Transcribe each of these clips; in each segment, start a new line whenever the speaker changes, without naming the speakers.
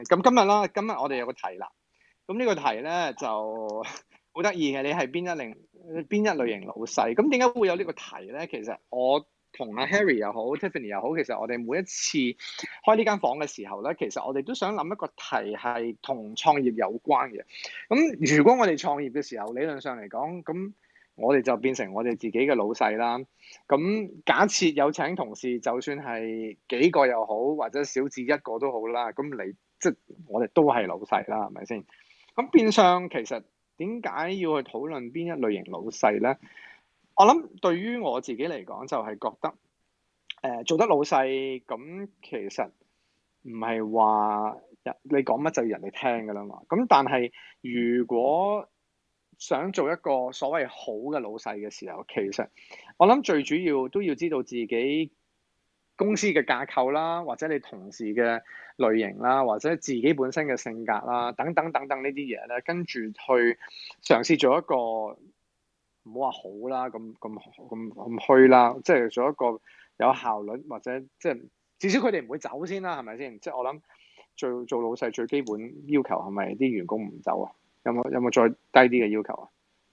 咁今日我哋有個題啦。咁呢個題咧就好得意嘅，你係邊一類型老細？咁點解會有呢個題咧？其實我同阿 Harry 又好 Tiffany 又好，其實我哋每一次開呢間房嘅時候咧，其實我哋都想諗一個題係同創業有關嘅。咁如果我哋創業嘅時候，理論上嚟講，咁我哋就變成我哋自己嘅老細啦。咁假設有請同事，就算係幾個又好，或者少至一個都好啦。咁你即係我哋都係老細啦，係咪先？咁變相其實點解要去討論邊一類型老細咧？我諗對於我自己嚟講，就係覺得做得老細咁，其實唔係話你講乜就要人哋聽㗎啦嘛。咁但係如果想做一個所謂好嘅老細嘅時候，其實我諗最主要都要知道自己公司嘅架構啦，或者你同事嘅類型啦，或者自己本身嘅性格啦，等等等等呢啲嘢咧，跟住去嘗試做一個唔好話好啦，咁虛啦，即係做一個有效率或者即係至少佢哋唔會走先啦，係咪先？即係我諗做老細最基本要求係咪啲員工唔走啊？有冇再低啲嘅要求啊？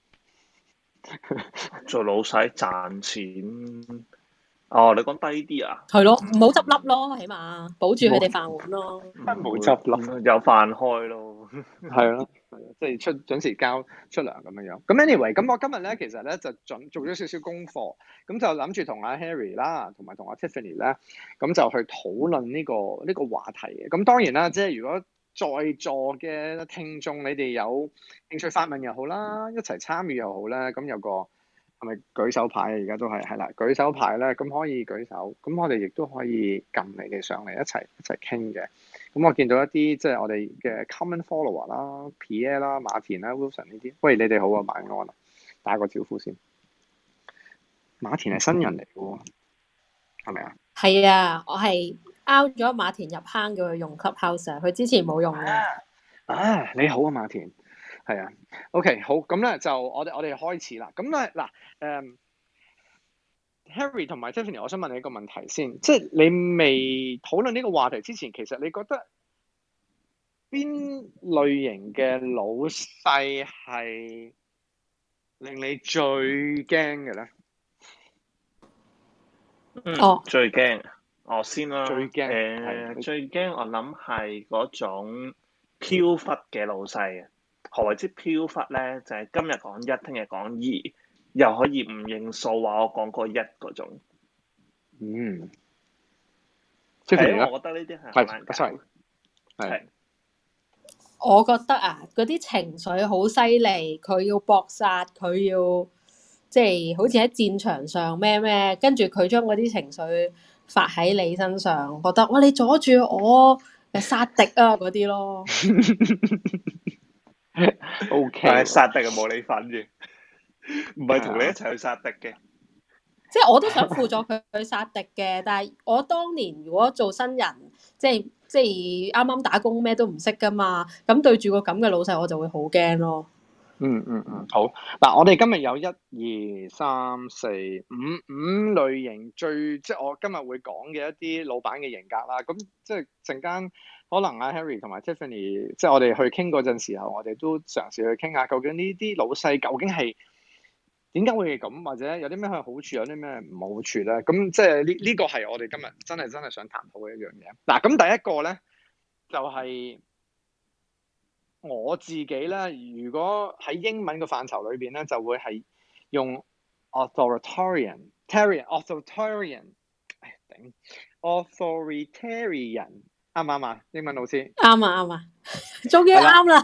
做老細賺錢。哦，你講低啲啊？
係咯，唔好執笠咯，起碼保住佢哋飯碗咯。
冇執笠，
有飯開咯。
係咯，即係準時交出糧咁樣樣。咁 anyway，咁我今日咧其實咧就做咗少少功課，咁就諗住同阿 Harry 啦，同埋同阿 Tiffany 咧，咁就去討論呢個話題嘅。咁當然啦，即係如果在座嘅聽眾，你哋有興趣發問又好啦，一齊參與又好咧，咁有個係咪舉手牌啊？而家都係啦，舉手牌咧，咁可以舉手，咁我哋亦都可以撳你哋上嚟一齊傾嘅。咁我見到一啲即係我哋嘅 common follower 啦、Pierre 啦、馬田啦、Wilson 呢啲，喂，你哋好啊，晚安啊，打個招呼先。馬田係新人嚟嘅喎，係咪啊？
係啊，我係 out 咗馬田入坑叫佢用 Clubhouse，佢之前冇用嘅。
你好啊，馬田。係啊 ，OK， 好，咁咧就我哋開始啦。咁咧嗱，Harry 同埋 Tiffany，我想問你一個問題先，即係你未討論呢個話題之前，其實你覺得邊類型嘅老細係令你最驚嘅咧？
最驚我先啦。
最驚
最驚我諗係嗰種飄忽嘅老細啊！何謂之飄忽咧？就係今日講一，聽日講二，又可以唔認數，話我講過一嗰種。
Tiffany
我覺得呢啲係好難搞。係。
我覺得啊，嗰啲情緒好犀利，佢要搏殺，佢要即係好似喺戰場上咩，跟住佢將嗰啲情緒發喺你身上，覺得哇你阻住我殺敵啊嗰啲咯。
OK，
但係殺敵就冇你份嘅，唔係同你一齊去殺敵嘅。
即係我都想輔助佢去殺敵嘅，但係我當年如果做新人，即係啱啱打工咩都唔識噶嘛，咁對住個咁嘅老細，我就會好驚咯。
好。嗱，我哋今日有1、2、3、4、5類型即係我今日會講嘅一啲老闆嘅型格啦。咁即係陣間可能阿 Harry 同埋 Tiffany，即係我哋去傾嗰陣時候，我哋都嘗試去傾下究竟呢啲老細究竟係點解會咁，或者有啲咩好處，有啲咩唔好處咧？咁即係呢個係我哋今日真係想談討嘅一樣嘢。嗱，咁第一個咧就係我自己咧，如果喺英文嘅範疇裏邊咧，就會係用 authoritarian，啱唔啱啊？英文老師
啱啊，終於啱啦。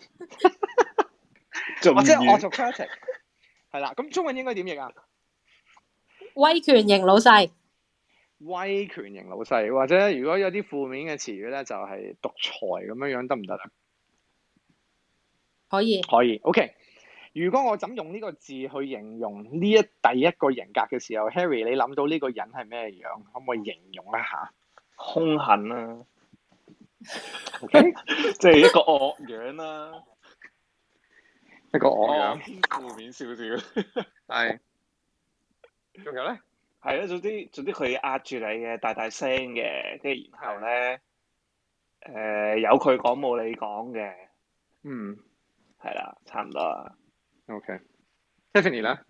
或者 autocratic 係啦，咁中文應該點譯啊？
威權型老細，
威權型老細，或者如果有啲負面嘅詞語咧，就係獨裁咁樣得唔得啊？
可以。
OK。如果我怎用呢個字去形容第一個型格嘅時候，Harry， 你諗到呢個人係咩樣？可唔可以形容一下？
兇狠啦。
OK，
即係一個惡樣啦。
一個惡樣。
偏負面少少。
係。仲有咧？
係啊，總之佢壓住你嘅，大聲嘅，跟住然後咧， 有佢講冇你講嘅，
嗯，
係啦，差唔多啦。
OK，Tiffany 咧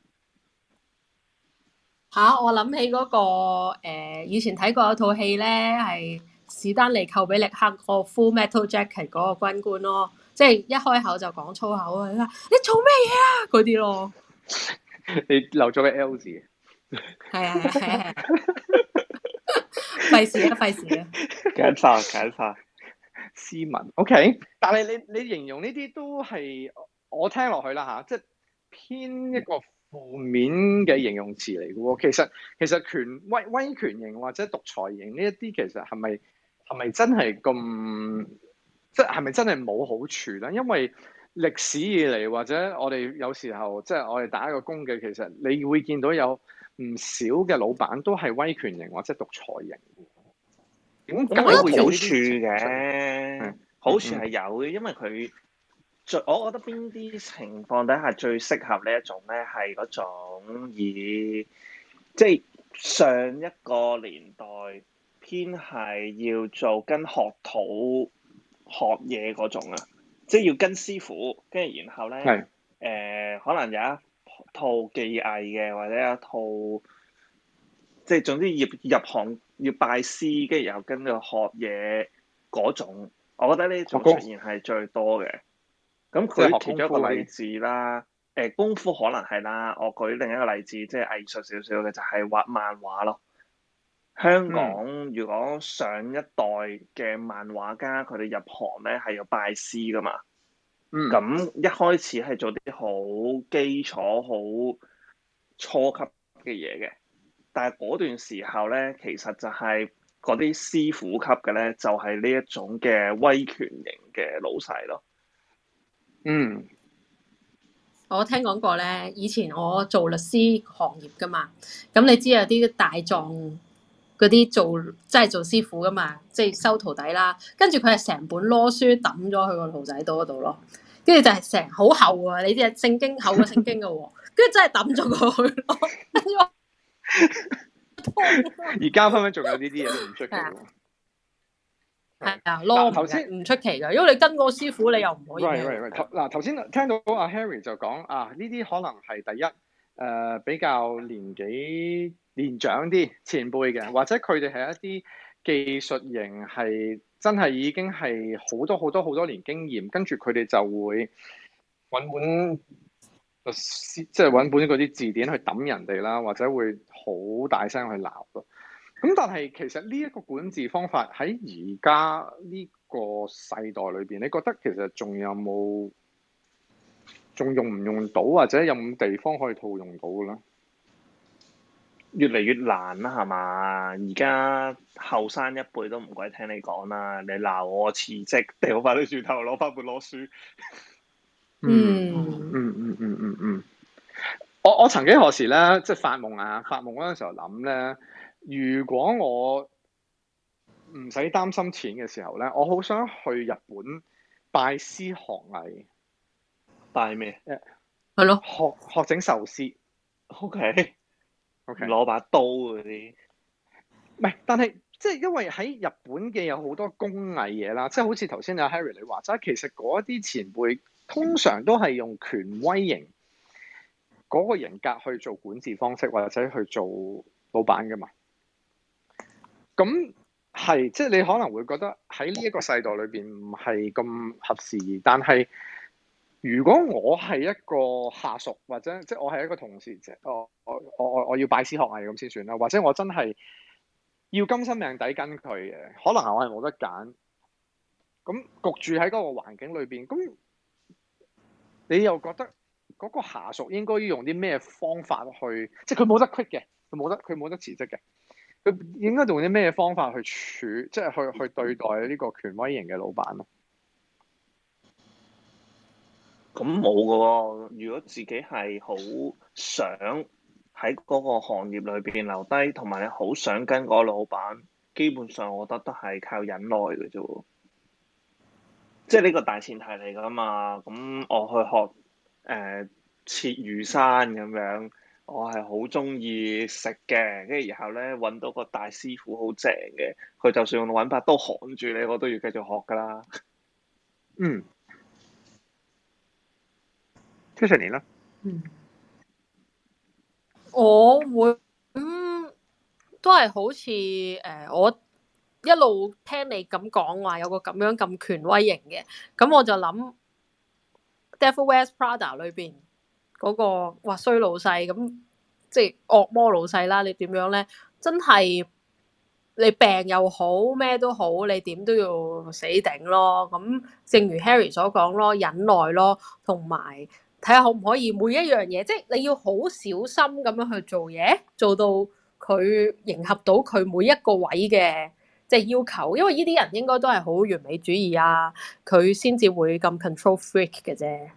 我諗起嗰、個以前睇過有套戲咧，係史丹利寇比力克個 Full Metal Jacket 嗰個軍官咯，即係一開口就講粗口啊！你做咩嘢啊？嗰啲咯，
你漏咗個 L 字，
係啊係啊，費事啊費事啊！
揀晒。
斯文 OK，但係你形容呢啲都係我聽落去啦嚇，即係偏一個負面嘅形容詞嚟嘅喎。其實威權型或者獨裁型呢一啲，其實係咪真係咁？即係咪真係冇好處咧？因為歷史以嚟，或者我哋有時候即係我哋打一個工嘅，其實你會見到有唔少嘅老闆都係威權型或者獨裁型。點解會有
好
呢啲
處嘅？好處係有嘅，因為佢我覺得邊啲情況底下最適合呢一種咧，係嗰種以即係上一個年代偏係要做跟學徒學嘢嗰種啊，即係要跟師傅，跟住然後咧可能有一套技藝嘅，或者有一套即係總之入行要拜師，跟住又跟住學嘢嗰種，我覺得呢種出現係最多嘅。咁佢其中一個例子啦，功夫可能係啦。我舉另一個例子，即係藝術少少嘅，就係畫漫畫咯。香港如果上一代嘅漫畫家，佢哋入行咧係要拜師噶嘛。咁一開始係做啲好基礎、好初級嘅嘢嘅，但係嗰段時候咧，其實就係嗰啲師傅級嘅咧，就係呢一種嘅威權型嘅老細咯。
我聽講過咧，以前我做律師行業噶嘛，咁你知有啲大狀嗰啲真係做師傅噶嘛，即係收徒弟啦，跟住佢係成本攞書抌咗去個徒弟度嗰度咯，跟住就係成好厚啊，你知係聖經厚過聖經噶喎，跟住真係抌咗過去咯。
而家分分仲有呢啲嘢都唔出奇喎。
係啊，攞頭先唔出奇㗎，因為你跟個師傅，你又唔可以。
嗱，頭先聽到阿 Harry 就講呢啲可能係第一比較年長啲前輩嘅，或者佢哋係一啲技術型係真係已經係好多年經驗，跟住佢哋就會揾本即係揾本嗰啲字典去揼人哋啦，或者會好大聲去鬧咯。咁但係其實呢一個管治方法喺而家呢個世代裏邊，你覺得其實仲用唔用到，或者有冇地方可以套用到嘅咧？
越嚟越難啦，係嘛？而家後生一輩都唔鬼聽你講啦，你鬧我辭職，掉翻啲轉頭攞翻本攞書。
我曾幾何時咧，即係發夢嗰陣時候諗咧，如果我唔使擔心錢嘅時候咧，我好想去日本拜師學藝。
拜咩？
係咯，
學整壽司。
OK，攞把刀嗰啲。
唔係，但係即係因為喺日本嘅有好多工藝嘢啦，即係好似頭先阿 Harry 你話齋，其實嗰啲前輩通常都係用權威型嗰個人格去做管治方式，或者去做老闆㗎嘛。咁係即係你可能會覺得喺呢一個世代裏邊唔係咁合時宜，但係如果我係一個下屬，或者即係我係一個同事，即係我要拜師學藝咁先算啦，或者我真係要甘心命抵跟佢嘅，可能我係冇得揀，咁焗住喺嗰個環境裏邊，咁你又覺得嗰個下屬應該要用啲咩方法去，即係佢冇得 quit 嘅，佢冇得辭職嘅，佢應該用啲咩方法去即係去對待呢個權威型嘅老闆咯？
咁冇㗎喎，如果自己係好想喺嗰個行業裏邊留低，同埋你好想跟嗰個老闆，基本上我覺得都係靠忍耐嘅啫喎。即係呢個大前提嚟㗎嘛。咁我去學切魚生咁樣， 我係好中意食嘅，跟住然後咧揾到個大師傅好正嘅，佢就算用揾把刀焊住你，我都要繼續學噶啦。
嗯，Tiffany 啦。
我會都係好似我一路聽你咁講話有個咁樣咁權威型嘅，咁我就諗 Devil Wears Prada 裏邊嗰個哇衰老細咁，即係惡魔老細啦。你點樣咧？真係你病又好咩都好，你點都要死頂咯。咁正如 Harry 所講咯，忍耐咯，同埋睇下可唔可以每一樣嘢，即係你要好小心咁樣去做嘢，做到佢迎合到佢每一個位嘅即係要求。因為呢啲人應該都係好完美主義啊，佢先至會咁 control freak 嘅啫。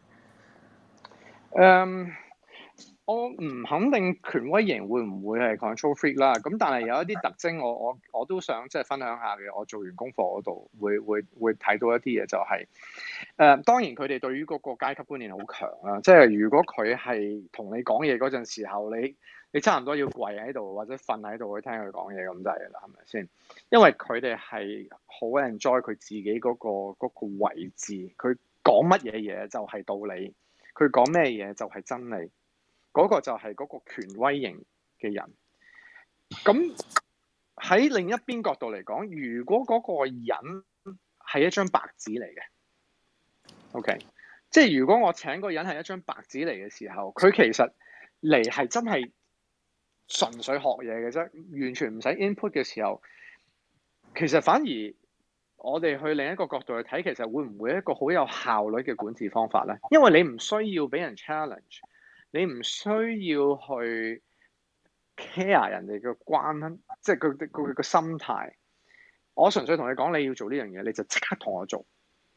我唔肯定權威型會唔會係 control freak 啦，咁但係有一啲特徵我都想即係分享下嘅。我做完功課嗰度會睇到一啲嘢，就係當然佢哋對於嗰個階級觀念好強啦，即係如果佢係同你講嘢嗰陣時候，你差唔多要跪喺度或者瞓喺度去聽佢講嘢咁滯嘅啦，係咪先？因為佢哋係好 enjoy 佢自己嗰個位置，佢講乜嘢嘢就係道理，佢講咩嘢就係真理。嗰個就係嗰個權威型嘅人。咁喺另一邊角度嚟講，如果嗰個人係一張白紙嚟嘅 ，OK， 即係如果我請個人係一張白紙嚟嘅時候，佢其實嚟係真係純粹學嘢嘅啫，完全唔使 input 嘅時候，其實反而我哋去另一個角度去睇，其實會唔會一個好有效率嘅管治方法咧？因為你唔需要俾人 challenge。你唔需要去 care 人哋嘅關，即係佢個心態。我純粹同你講，你要做呢樣嘢，你就即刻同我做。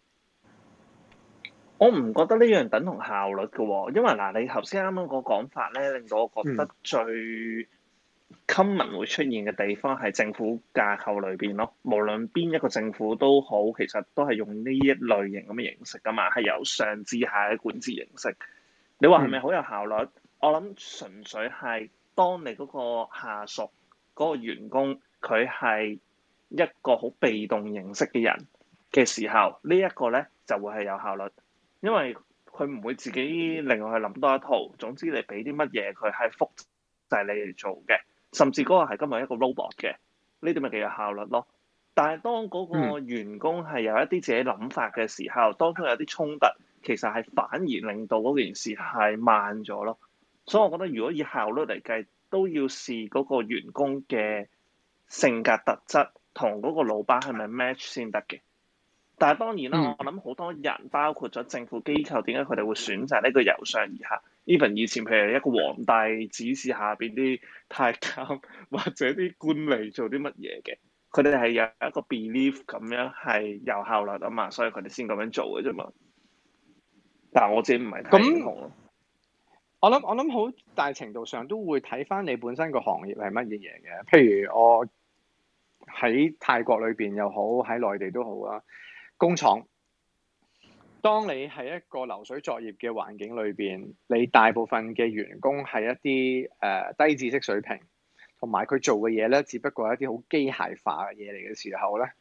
我唔覺得呢樣等同效率嘅喎，因為嗱，你頭先啱啱個講法咧，令到我覺得最 common 會出現嘅地方係政府架構裏邊咯。無論邊一個政府都好，其實都係用呢一類型咁嘅形式噶嘛，係由上至下嘅管治形式。你話係咪好有效率？我諗純粹係當你嗰個下屬嗰個員工佢係一個好被動形式嘅人嘅時候，呢一個咧就會係有效率，因為佢唔會自己另外去諗多一套。總之你俾啲乜嘢佢係複製你嚟做嘅，甚至嗰個係今日一個 robot 嘅，呢啲咪幾有效率咯。但係當嗰個員工係有一啲自己諗法嘅時候，當中有啲衝突，其實係反而令到嗰件事係慢咗咯。所以我覺得如果以效率嚟計，都要視嗰個員工嘅性格特質同嗰個老闆係咪 match 先得嘅。但係當然啦，我諗好多人包括咗政府機構，點解佢哋會選擇呢個由上而下 ？even 以前譬如一個皇帝指示下邊啲太監或者啲官吏做啲乜嘢嘅。佢哋係有一個 belief 咁樣係有效率啊嘛，所以佢哋先咁樣做嘅啫嘛。但係我自己唔係太認同咯。
我諗好大程度上都會睇翻你本身個行業係乜嘢嘢嘅。譬如我喺泰國裏邊又好，喺內地都好啦。工廠，當你係一個流水作業嘅環境裏邊，你大部分嘅員工係一啲低知識水平。同埋佢做嘅嘢咧，只不過係一啲好機械化嘅嘢嚟嘅時候咧，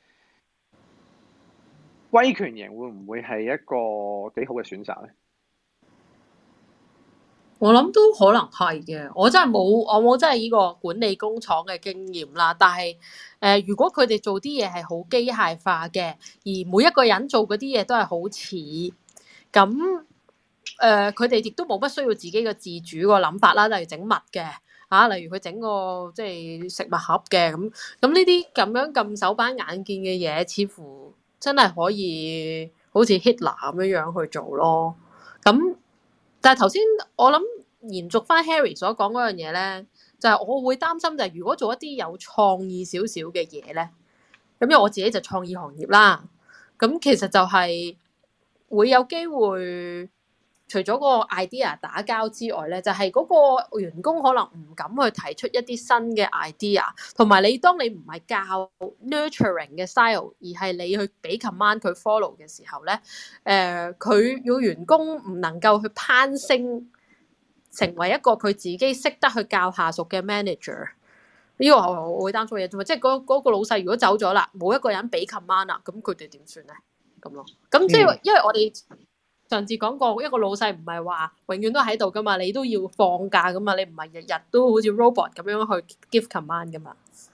威權型會唔會係一個幾好嘅選擇咧？
我諗都可能係嘅，我冇真係呢個管理工廠嘅經驗啦。但係如果佢哋做啲嘢係好機械化嘅，而每一個人做嗰啲嘢都係好似咁，佢哋亦都冇乜需要自己嘅自主個諗法啦，例如整物嘅。例如佢整個即係食物盒嘅咁呢啲咁樣咁手板眼見嘅嘢，似乎真係可以好似 Hitler 咁樣去做咯。咁但係頭先我諗延續翻 Harry 所講嗰樣嘢咧，就係我會擔心就係如果做一啲有創意少少嘅嘢咧，咁因為我自己就創意行業啦，咁其實就係會有機會。除咗個 idea 打交之外咧，就係嗰個員工可能唔敢去提出一啲新嘅 idea，同埋當你唔係教 nurturing 嘅 style，而係你去俾 command 佢 follow 嘅時候咧，佢要員工唔能夠去攀升成為一個佢自己識得去教下屬嘅 manager。呢個我會擔心嘅嘢啫嘛，即係嗰個老細如果走咗啦，冇一個人俾 command 啦，咁佢哋點算咧？咁咯，咁即係因為我哋上次講過，一個老細唔係話永遠都喺度噶嘛，你都要放假噶嘛，你唔係日日都好似 robot 咁樣去 give command 噶嘛。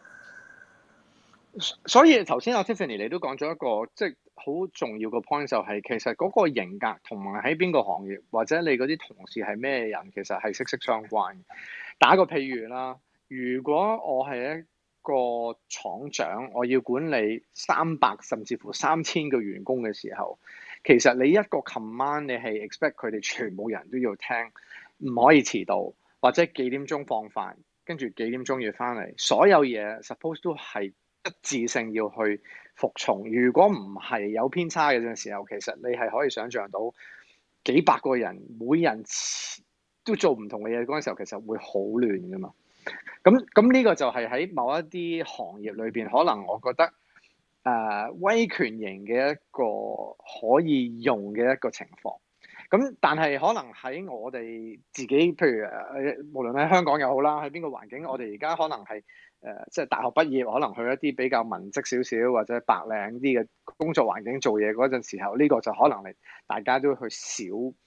所以頭先阿 Tiffany 你都講咗一個即係好重要嘅 point，就係其實嗰個型格同埋喺邊個行業或者你嗰啲同事係咩人，其實係息息相關。打個譬如啦。如果我係一個廠長，我要管理300甚至乎3000個員工嘅時候，其實你一個 command 你係 expect 佢哋全部人都要聽，唔可以遲到，或者幾點鐘放飯，跟住幾點鐘要翻嚟，所有嘢 suppose 都係一致性要去服從。如果唔係有偏差嘅時候，其實你係可以想像到幾百個人每人都做唔同嘅嘢嗰陣時候，其實會好亂㗎嘛。咁呢個就係喺某一啲行業裏邊，可能我覺得威權型嘅一個可以用嘅一個情況。咁但係可能喺我哋自己，譬如無論喺香港又好啦，喺邊個環境，我哋而家可能係即係大學畢業，可能去一啲比較文職少少或者白領啲嘅工作環境做嘢嗰陣時候，呢個就可能大家都去少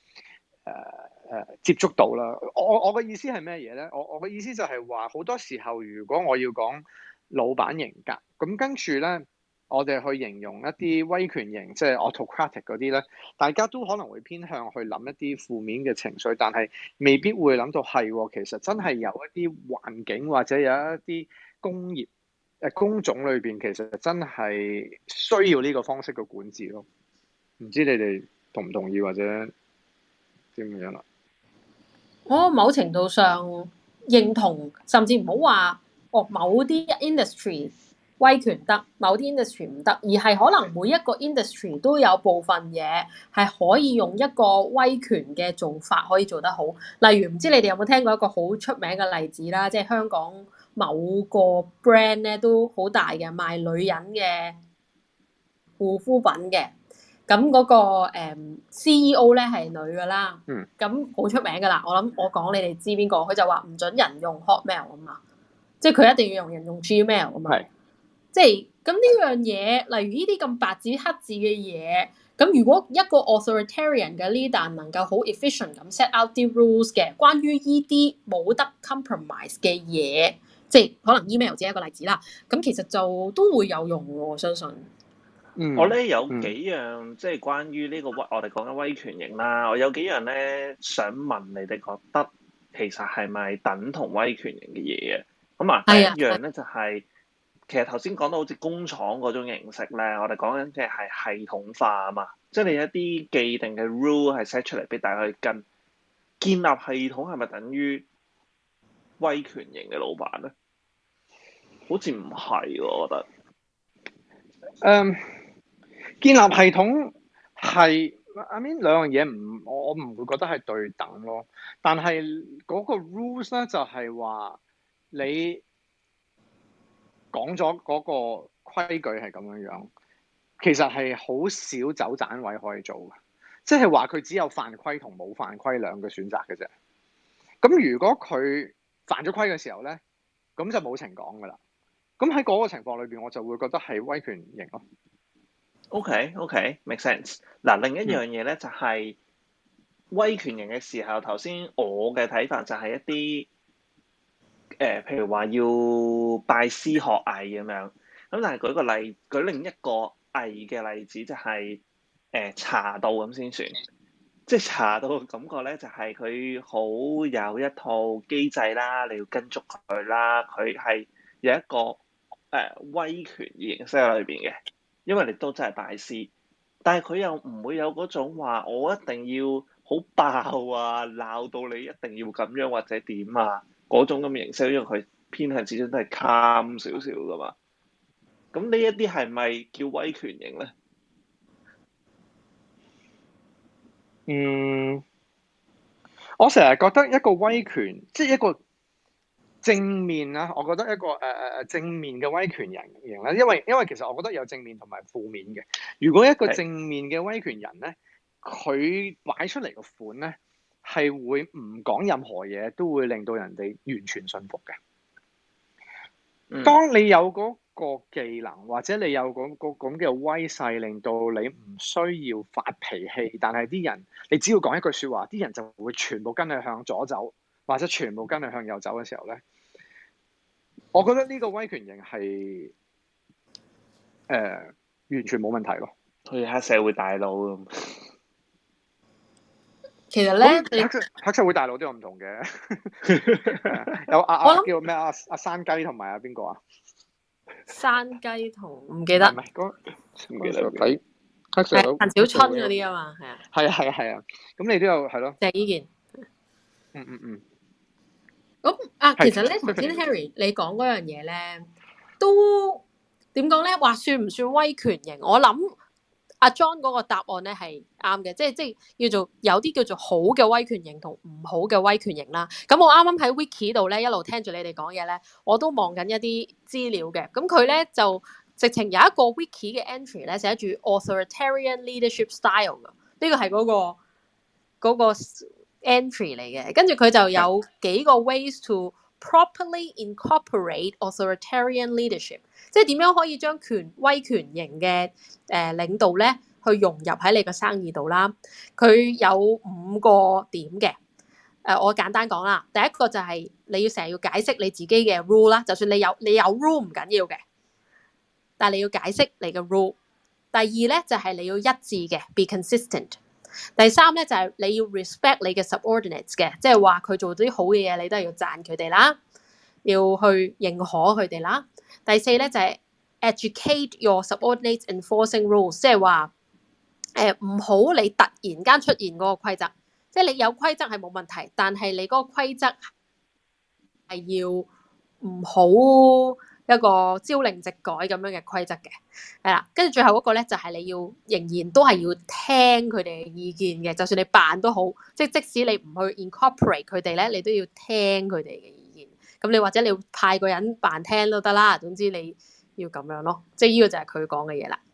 接觸到啦。我嘅意思係咩嘢咧？我嘅意思就係話，好多時候如果我要講老闆型格，咁跟住咧，我哋去形容一啲威權型，即係 autocratic 嗰啲咧，大家都可能會偏向去諗一啲負面嘅情緒，但係未必會諗到係其實真係有一啲環境或者有一啲工業工種裏邊，其實真係需要呢個方式嘅管治咯。唔知你哋同唔同意或者點樣啦？
我某程度上認同，甚至唔好話某啲 industry 威權得，某啲 industry 唔得，而係可能每一個 industry 都有部分嘢係可以用一個威權嘅做法可以做得好。例如唔知你哋有冇聽過一個好出名嘅例子啦，即係香港某個 brand 咧都好大嘅，賣女人嘅護膚品嘅。咁嗰個CEO 咧係女噶啦，咁好出名噶啦。我諗我講你哋知邊個，佢就話唔準人用 Hotmail 啊嘛，即係佢一定要用人用 Gmail 啊嘛。係，即係咁呢樣嘢，例如呢啲咁白紙黑字嘅嘢，咁如果一個 authoritarian 嘅 leader 能夠好 efficient 咁 set out 啲 rules 嘅，關於呢啲冇得 compromise 嘅嘢，即係可能 email 只係一個例子啦。咁其實就都會有用喎，我相信。
我咧有幾樣即係關於呢個我哋講緊威權型啦，我有幾樣咧想問你哋覺得其實係咪等同威權型嘅嘢啊？咁啊，第一樣咧就係其實頭先講到好似工廠嗰種形式咧，我哋講緊嘅係系統化啊嘛，即係你一啲既定嘅 rule 係 set 出嚟俾大家去跟，建立系統係咪等於威權型嘅老闆咧？好似唔係喎，我覺得。
建立系統係I mean 兩樣嘢我唔會覺得係對等咯。但係嗰個 rules 咧就係話你講咗嗰個規矩係咁樣，其實係好少走盞位可以做嘅，即係話佢只有犯規同冇犯規兩個選擇嘅啫。咁如果佢犯咗規嘅時候咧，咁就冇情講噶啦。咁喺嗰個情況裏邊，我就會覺得係威權型咯。
OK，make sense。嗱，另一樣嘢咧就係威權型嘅時候，頭先我嘅睇法就係一啲譬如話要拜師學藝咁樣。咁但係舉另一個藝嘅例子就係茶道咁先算。即係茶道嘅感覺咧，就係佢好有一套機制啦，你要跟足佢啦，佢係有一個威權形式喺裏邊嘅。因為你都真係大師，但係佢又唔會有嗰種話我一定要好爆啊，鬧到你一定要咁樣或者點啊嗰種咁嘅形式，因為佢偏向始終都係 calm 少少噶嘛。咁呢一啲係咪叫威權型咧？
我成日覺得一個威權，即係一個正面啦。我覺得一個正面嘅威權人型咧，因為其實我覺得有正面同埋負面嘅。如果一個正面嘅威權人咧，佢擺出嚟個款咧係會唔講任何嘢都會令到人哋完全信服嘅。當你有嗰個技能，或者你有嗰個咁嘅威勢，令到你唔需要發脾氣，但係啲人你只要講一句説話，啲人就會全部跟你向左走，或者全部跟你向右走嘅時候咧，我覺得呢個威權型係完全冇問題咯。
好似黑社會大佬咁。
其實咧，
黑社會大佬都有唔同嘅，有叫咩阿山雞同埋阿邊個啊？
山雞同唔記得，
唔係唔記得睇黑社會
陳小春嗰啲啊嘛，
係啊，咁你都有係咯。
鄭伊健。咁其實咧，頭先 Harry 你講嗰樣嘢咧，都點講咧？話算唔算威權型？我諗阿 John 嗰個答案咧係啱嘅，即係叫做有啲叫做好嘅威權型同唔好嘅威權型啦。咁我啱啱喺 Wiki 度咧一路聽住你哋講嘢咧，我都望緊一啲資料嘅。咁佢咧就直情有一個 Wiki 嘅 entry 咧寫住 authoritarian leadership style 㗎，呢個係嗰個 entry 嚟嘅。跟住佢就有幾個 ways to properly incorporate authoritarian leadership， 即係點樣可以將威權型嘅領導咧去融入喺你個生意度啦。佢有5個點嘅。我簡單講啦，第一個就係你要成日要解釋你自己嘅 rule 啦，就算你有 rule 唔緊要嘅，但係你要解釋你嘅 rule。第二咧就係你要一致嘅 be consistent。第三咧就係你要 respect 你嘅 subordinates 嘅，即係話佢做啲好嘅嘢，你都係要讚佢哋啦，要去認可佢哋啦。第四咧就係 educate your subordinates enforcing rules， 即係話唔好你突然間出現嗰個規則，即係你有規則係冇問題，但係你嗰個規則係要唔好一個朝令夕改咁樣嘅規則嘅，係啦。跟住最後嗰個咧就係你要仍然都係要聽佢哋嘅意見嘅，就算你扮都好，即使你唔去 incorporate 佢哋咧，你都要聽佢哋嘅意見。咁你或者你要派個人扮聽都得啦，總之你要咁樣咯。即係呢個就係佢講嘅嘢啦。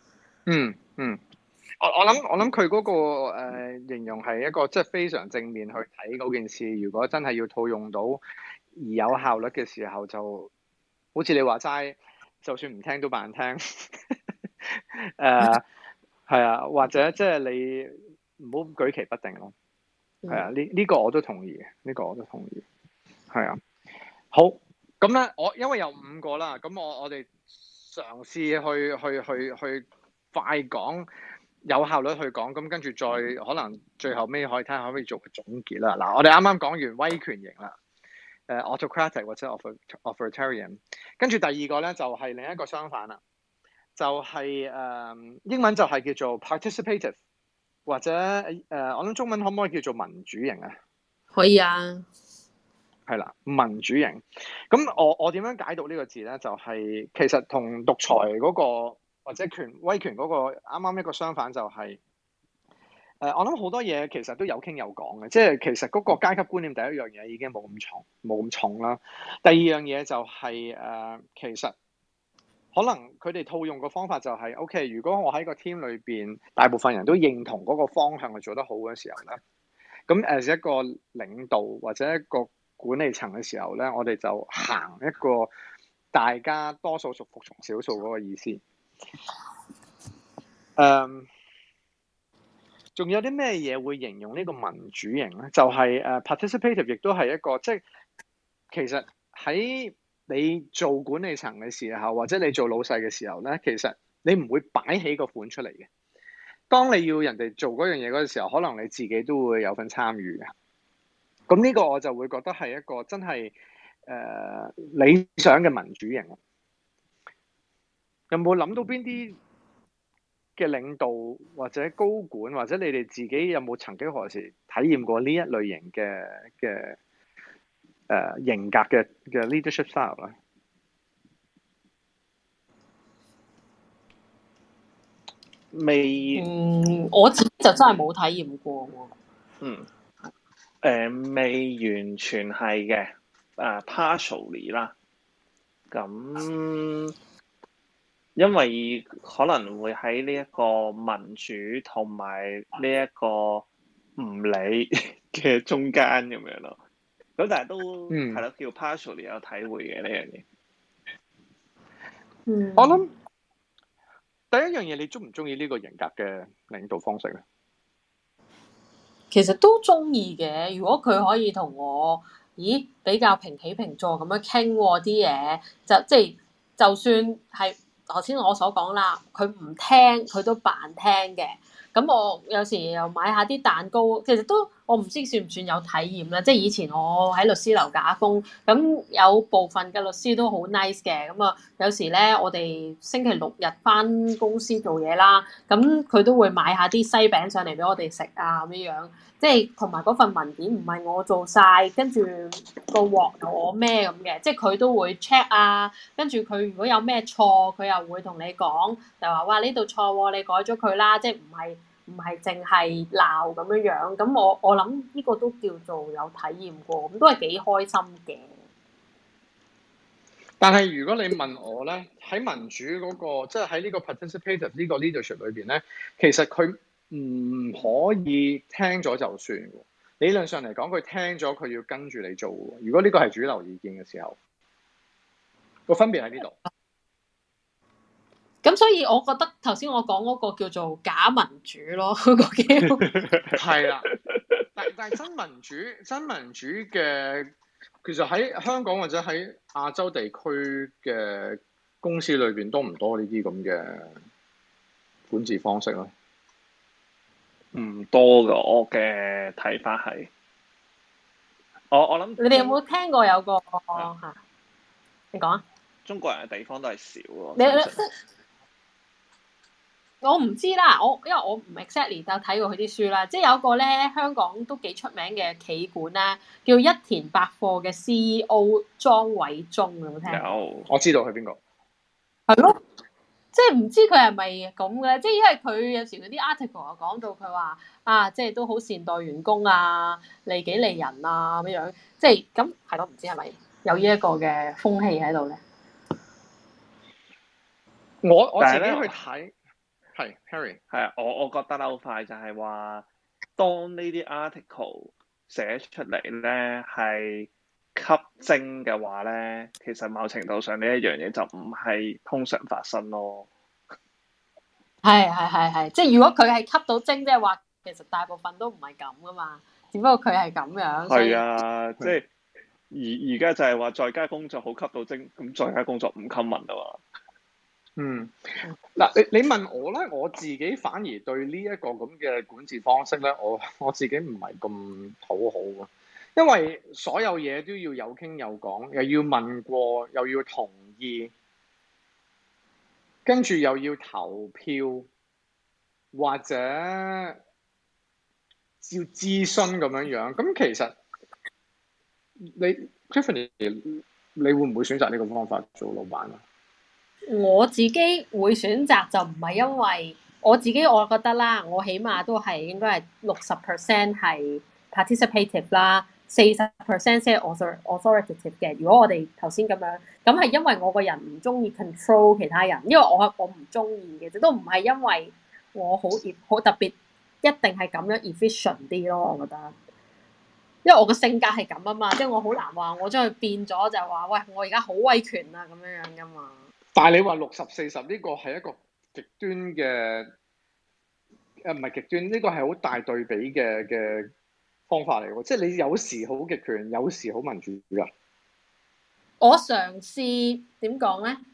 我諗佢嗰個形容係一個即係非常正面去睇嗰件事。如果真係要套用到而有效率嘅時候，就好似你話齋，就算唔聽都扮聽。係啊，或者即係你唔好舉棋不定咯。係啊，呢個我都同意嘅，呢個我都同意。係啊，好，咁咧，因為有5個啦，咁我哋嘗試去快講。有效率去講，咁跟住再可能最後尾可以睇下可唔可以做個總結啦。嗱，我哋啱啱講完威權型啦，autocratic 或者 authoritarian， 跟住第二個咧就係另一個相反啦，就係英文就係叫做 participative， 或者我諗中文可唔可以叫做民主型啊？
可以啊，
係啦，民主型。咁我點樣解讀呢個字咧？就係其實同獨裁嗰個。或者威權嗰個啱啱一個相反就係我諗好多嘢其實都有傾有講嘅，即係其實嗰個階級觀念第一樣嘢已經冇咁重啦。第二樣嘢就係其實可能佢哋套用個方法就係 OK， 如果我喺個 team 裏邊大部分人都認同嗰個方向係做得好嘅時候咧，咁as一個領導或者一個管理層嘅時候咧，我哋就行一個大家多數服從少數嗰個意思。仲有啲咩嘢會形容呢個民主型咧？就係participative，亦都係一個即係其實喺你做管理層嘅時候，或者你做老細嘅時候咧，其實你唔會擺起個款出嚟嘅。當你要人哋做嗰樣嘢嗰陣時候，可能你自己都會有份參與嘅。咁呢個我就會覺得係一個真係理想嘅民主型。有冇諗到邊啲嘅領導或者高管，或者你哋自己有冇曾經何時體驗過呢一類型嘅型格嘅 leadership style 咧？
我自己就真係冇體驗過
喎。未完全係嘅，partially 啦。咁因為可能會喺呢一個民主同埋呢一個唔理嘅中間咁樣咯。咁但係都係咯，
嗯，
叫 partially 有體會嘅呢樣嘢。
我諗第一樣嘢，你中唔中意呢個型格嘅領導方式咧？
其實都中意嘅。如果佢可以同我，比較平起平坐咁樣傾啲嘢，即係就算係頭先我所講啦，佢唔聽佢都扮聽嘅。咁我有時又買下啲蛋糕，其實都我唔知算唔算有體驗啦。即係以前我喺律師樓打工，咁有部分嘅律師都好 nice 嘅。咁啊，有時咧我哋星期六日返公司做嘢啦，咁佢都會買下啲西餅上嚟俾我哋食啊咁樣。即係同埋嗰份文件唔係我做晒，跟住個鑊由我孭咁嘅，即係佢都會 check 啊，跟住佢如果有咩錯，佢又會同你講，就話哇呢度錯喎，你改咗佢啦，即係唔係淨係鬧咁樣樣。咁我諗呢個都叫做有體驗過，咁都係幾開心嘅。
但係如果你問我咧，喺民主嗰個，即係喺呢個 participative 呢個 leadership 裏邊咧，其實佢唔可以聽咗就算。理論上嚟講，佢聽咗佢要跟住你做。如果呢個係主流意見嘅時候，個分別喺呢度。
咁所以我覺得頭先我講嗰個叫做假民主咯，嗰個叫
係啦。但係真民主嘅，其實喺香港或者喺亞洲地區嘅公司裏邊多唔多呢啲咁嘅管治方式咧？
唔多噶，我嘅睇法係，我諗
你哋有冇聽過有個嚇？你講啊！
中國人嘅地方都係少咯。
我唔知啦，因為我唔 exactly 就睇過佢啲書啦。即係有個咧香港都幾出名嘅企管咧，叫一田百貨嘅 CEO 莊偉忠，有冇聽？
有，
我知道係邊個。
係咯。即係唔知佢係咪咁嘅，即係因為佢有時嗰啲 article 又講到佢話啊，即係都好善待員工啊，利己利人啊咁樣，即係咁係咯，唔知係咪有呢一個嘅風氣喺度咧？
我自己去睇係 Harry
係啊，我覺得好快就係話，當呢啲 article 寫出嚟咧係吸睛嘅話咧，其實某程度上呢一樣嘢就唔係通常發生咯。
係，即係如果佢係吸到精，即係話其實大部分都唔係咁噶嘛，只不過佢係咁樣。
係啊，即係而家就係話在家工作好吸到精，咁在家工作唔 common 啊嘛。
嗱，你問我咧，我自己反而對呢一個咁嘅管治方式咧，我自己唔係咁討好啊，因為所有嘢都要有傾有講，又要問過，又要同意，跟住又要投票，或者要諮詢咁樣樣。咁其實你 Tiffany，你會唔會選擇呢個方法做老闆啊？
我自己會選擇就唔係因為我自己，我覺得啦，我起碼都係應該係60% 係 participative 啦，40% 先係 authoritative 嘅。如果我哋頭先咁樣，咁係因為我個人唔中意 control 其他人，因為我唔中意嘅，都唔係因為我好特別一定係咁樣 efficient 啲咯。我覺得，因為我個性格係咁啊嘛，即係我好難話我將佢變咗就係話，喂，我而家好威權啊咁樣樣噶嘛。但係你話
60-40呢個係一個極端嘅，唔係極端，呢個係好大對比嘅方法嚟喎。即係你有時好極權，有時好民主㗎。
我嘗試點講咧？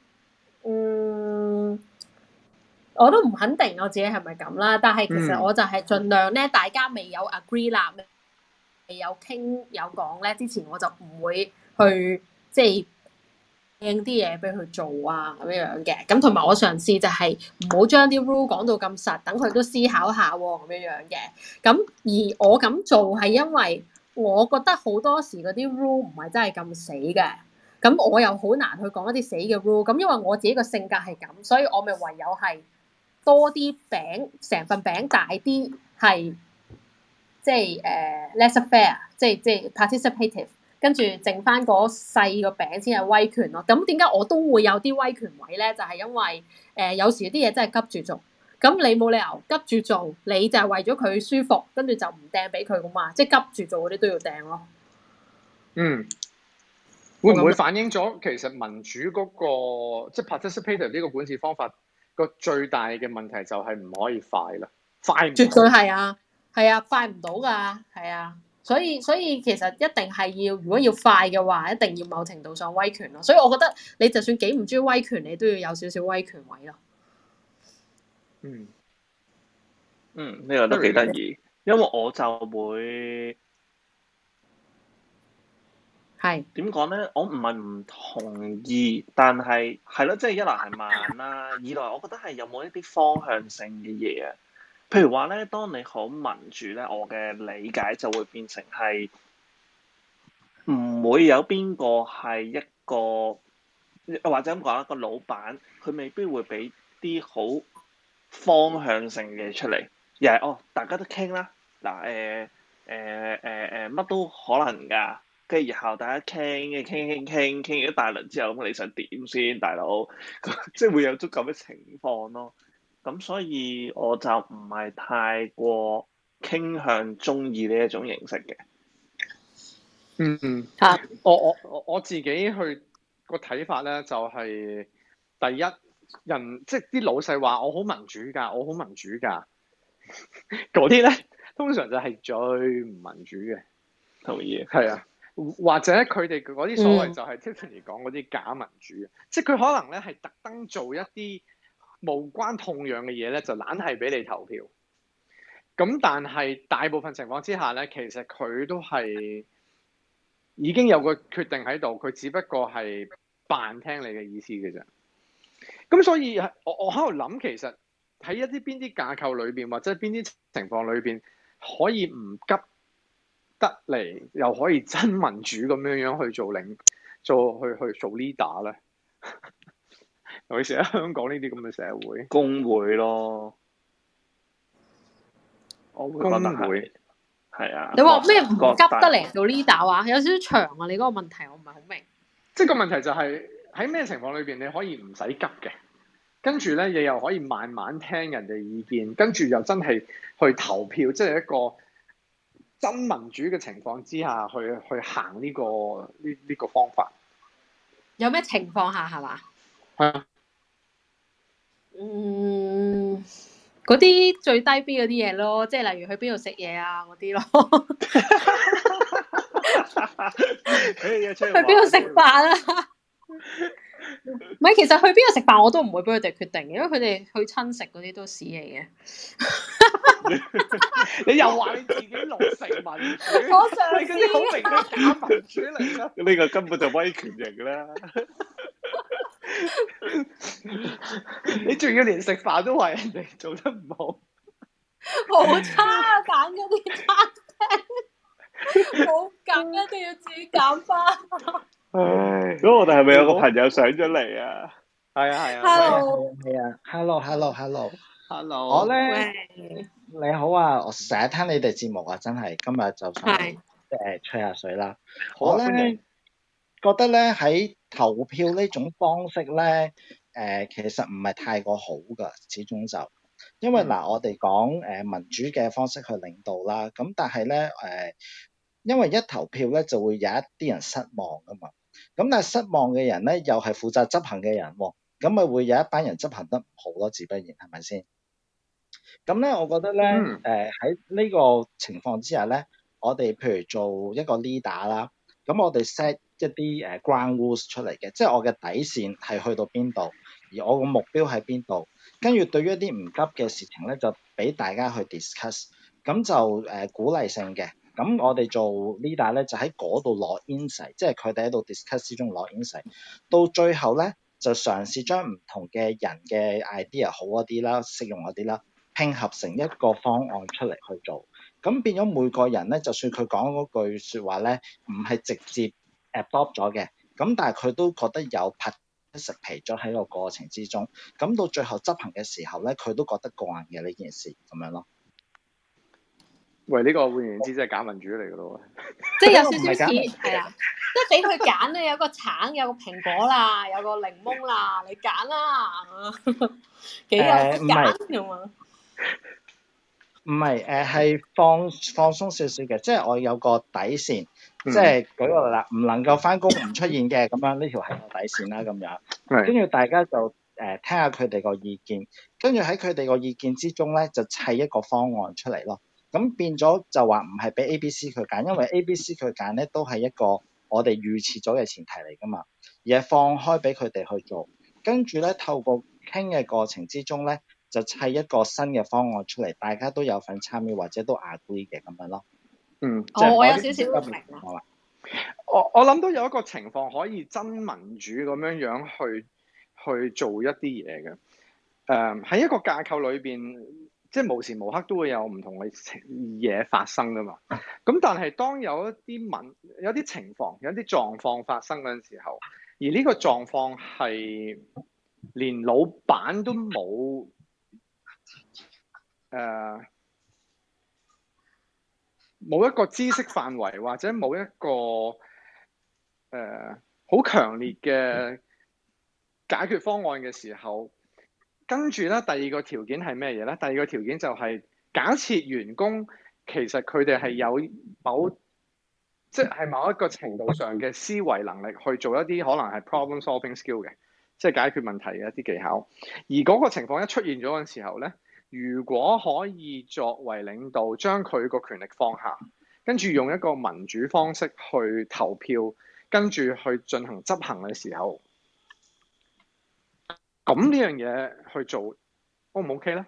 我都唔肯定我自己係咪咁啦。但係其實我就係盡量咧，大家未有 agree 啦，未有傾有講咧之前，我就唔會去即係掟啲嘢俾佢做啊咁樣嘅。咁同埋我嘗試就係唔好將啲 rule 講到咁實，等佢都思考下喎咁樣嘅。咁而我咁做係因為我覺得好多時嗰啲 rule 唔係真係咁死嘅。咁我又好難去講一啲死嘅 rule。咁因為我自己個性格係咁，所以我咪唯有係多啲餅，成份餅大啲，係即係laissez-faire，即係 participative。跟住剩翻嗰細個餅先係威權咯。咁點解我都會有啲威權位咧？就係因為有時啲嘢真係急住做。 咁你冇理由急住做，你就係為咗佢舒服，跟住就唔掟俾佢噶嘛，即係急住做嗰啲都要掟咯。
會唔會反映咗其實民主嗰個即係 participative 呢個管治方法個最大嘅問題就係唔可以快啦，快唔到。
絕對係啊，快唔到㗎，係啊。所以其實一定係要，如果要快嘅話，一定要某程度上威權咯。所以我覺得你就算幾唔中意威權，你都要有少少威權位咯。
呢個都幾得意，因為我就會
係
點講咧？我唔係唔同意，但係咯，即係一來係慢啦，二來我覺得係有冇一啲方向性嘅嘢啊。譬如話咧，當你好民主咧，我嘅理解就會變成係唔會有邊個係一個，或者咁講啦，個老闆佢未必會俾啲好方向性嘅出嚟，又係大家都傾啦，嗱乜都可能㗎，跟住然後大家傾完一大輪之後，咁你想點先，大佬？即係會有足夠嘅情況咯。咁所以我就唔係太過傾向中意呢一種形式嘅。
我自己去個睇法咧，就係第一人即係啲老細話我好民主㗎，我好民主㗎，嗰啲咧通常就係最唔民主嘅。
同意。
係啊，或者佢哋嗰啲所謂就係 Tiffany 講嗰啲假民主，即係佢可能咧係特登做一啲無關痛癢嘅嘢咧，就懶係俾你投票。咁但係大部分情況之下咧，其實佢都係已經有個決定喺度，佢只不過係扮聽你嘅意思嘅啫。咁所以我喺度諗，其實喺一啲邊啲架構裏邊，或者邊啲情況裏邊，可以唔急得嚟，又可以真民主咁樣去做去做 leader 咧？尤其是喺香港呢啲咁嘅社會，
工會咯，我會覺得係。係啊，
你話咩唔急得嚟做 leader 話？有少少長啊！你嗰個問題我唔係好明。即係
個問題就係喺咩情況裏邊你可以唔使急嘅，跟住咧你又可以慢慢聽人哋意見，跟住又真係去投票，即係一個真民主嘅情況之下去行呢個方法。
有咩情況下係嘛？
係啊。
嗰啲最低 B 嗰啲嘢咯，即係例如去邊度食嘢啊嗰啲咯。去邊度食飯啊？唔係，其實去邊度食飯我都唔會俾佢哋決定，因為佢哋去親食嗰啲都屎嚟嘅。
你又話你自己落成民主，
我上次
你嗰啲好明顯假民主嚟啦。
呢個根本就威權型啦。
你仲要連食飯都話人哋做得唔好，
好差啊！揀嗰啲餐廳，好緊，一定要自己揀翻。
咁我哋係咪有個朋友上咗嚟啊？
係啊。
Hello，
係啊。Hello。
我
咧，你好啊！我成日聽你哋節目啊，真係今日就想吹下水啦。我咧覺得咧喺投票呢種方式咧，其實唔係太過好噶，始終就因為我哋講民主嘅方式去領導啦，咁但係咧因為一投票咧就會有一啲人失望噶嘛，咁但係失望嘅人咧又係負責執行嘅人喎，咁咪會有一班人執行得唔好咯，自不然係咪先？咁咧，我覺得咧，喺呢個情況之下咧，我哋譬如做一個 leader 啦，咁我哋 set 一啲ground rules 出嚟嘅，即係我嘅底線係去到邊度，而我個目標喺邊度，跟住對於一啲唔急嘅事情咧，就俾大家去 discuss，咁就鼓勵性嘅。咁我哋做 leader 咧，就喺嗰度攞 insight，即係佢哋喺度 discuss 之中攞 insight，到最後咧就嘗試將唔同嘅人嘅 idea 好一啲啦，適用一啲啦，拼合成一個方案出嚟去做，咁變咗每個人咧，就算佢講嗰句説話咧，唔係直接 adopt 咗嘅，咁但係佢都覺得有 participate 咗喺個過程之中，咁到最後執行嘅時候咧，佢都覺得過癮嘅呢件事咁樣咯。
喂，呢個換言之，即係假民主嚟嘅咯喎，
即係有少少似係啦。 即係俾佢揀咧，有個橙，有個蘋果啦，有個檸檬啦，你揀啦，幾有得揀咁啊？
唔係係放鬆少少嘅，即係我有個底線，即係舉個例啦，唔能夠翻工唔出現嘅咁樣，呢條係我底線啦咁樣。跟住大家就聽下佢哋個意見，跟住喺佢哋個意見之中咧，就砌一個方案出嚟咯。咁變咗就話唔係俾 A、B、C 佢揀，因為 A、B、C 佢揀咧都係一個我哋預設咗嘅前提嚟噶嘛，而係放開俾佢哋去做。跟住咧透過傾嘅過程之中咧，就砌一個新嘅方案出嚟，大家都有份參與或者都 agree 嘅咁樣咯。
我有少少明啦。
我諗到有一個情況可以真民主咁樣去做一啲嘢嘅。喺一個架構裏邊，即係無時無刻都會有唔同嘅嘢發生噶嘛。咁但係當有啲情況、有啲狀況發生嗰陣時候，而呢個狀況係連老闆都冇冇一個知識範圍，或者冇一個好強烈嘅解決方案嘅時候，跟住咧第二個條件係咩嘢咧？第二個條件就係假設員工其實佢哋係有即係某一個程度上嘅思維能力去做一啲可能係 problem solving skill 嘅，即係解決問題嘅一啲技巧。而嗰個情況一出現咗嘅時候咧，如果可以作為領導將佢個權力放下，跟住用一個民主方式去投票，跟住去進行執行嘅時候，咁呢樣嘢去做 O 唔 OK 咧？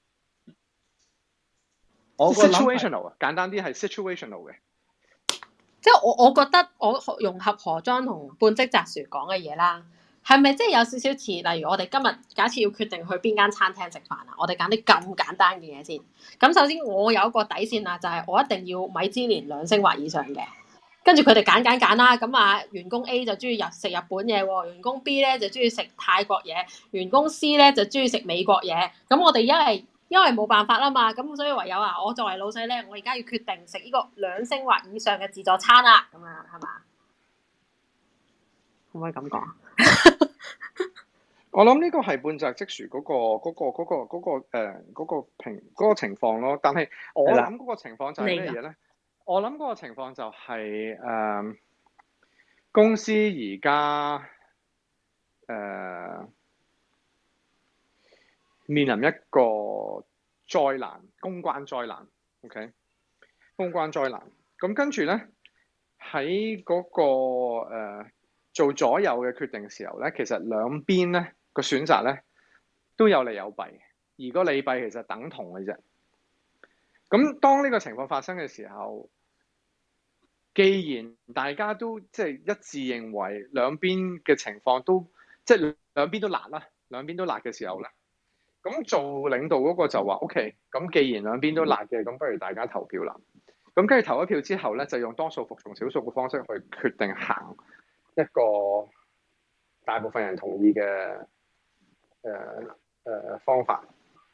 我 situational 啊，簡單啲係 situational 嘅。
即係我覺得我融合何莊同半職雜薯講嘅嘢啦，係咪即係有少少似？例如我哋今日假設要決定去邊間餐廳食飯啊，我哋揀啲咁簡單嘅嘢先。咁首先我有一個底線啊，就係我一定要米芝蓮2星或以上嘅。跟住佢哋揀啦，咁啊員工 A 就中意食日本嘢喎，員工 B 咧就中意食泰國嘢，員工 C 咧就中意食美國嘢。咁我哋因為冇辦法啦嘛，咁所以唯有我作為老細咧，我而家要決定食呢個2星或以上嘅自助餐啦，咁啊係嘛？可唔可以咁講？
我諗呢個係半澤直樹嗰個情況咯，但係我諗嗰個情況就係咩嘢咧？我諗嗰個情況就係公司而家面臨一個災難，公關災難 ，OK？ 公關災難，咁跟住咧喺嗰個做左右嘅決定嘅時候咧，其實兩邊咧個選擇咧都有利有弊，而個利弊其實等同嘅啫。咁當呢個情況發生嘅時候，既然大家都即係一致認為兩邊嘅情況都即係兩邊都辣啦，兩邊都辣嘅時候咧，咁做領導嗰個就話 OK， 咁既然兩邊都辣嘅，咁不如大家投票啦。咁跟住投咗票之後咧，就用多數服從少數嘅方式去決定行一個大部分人同意嘅方法。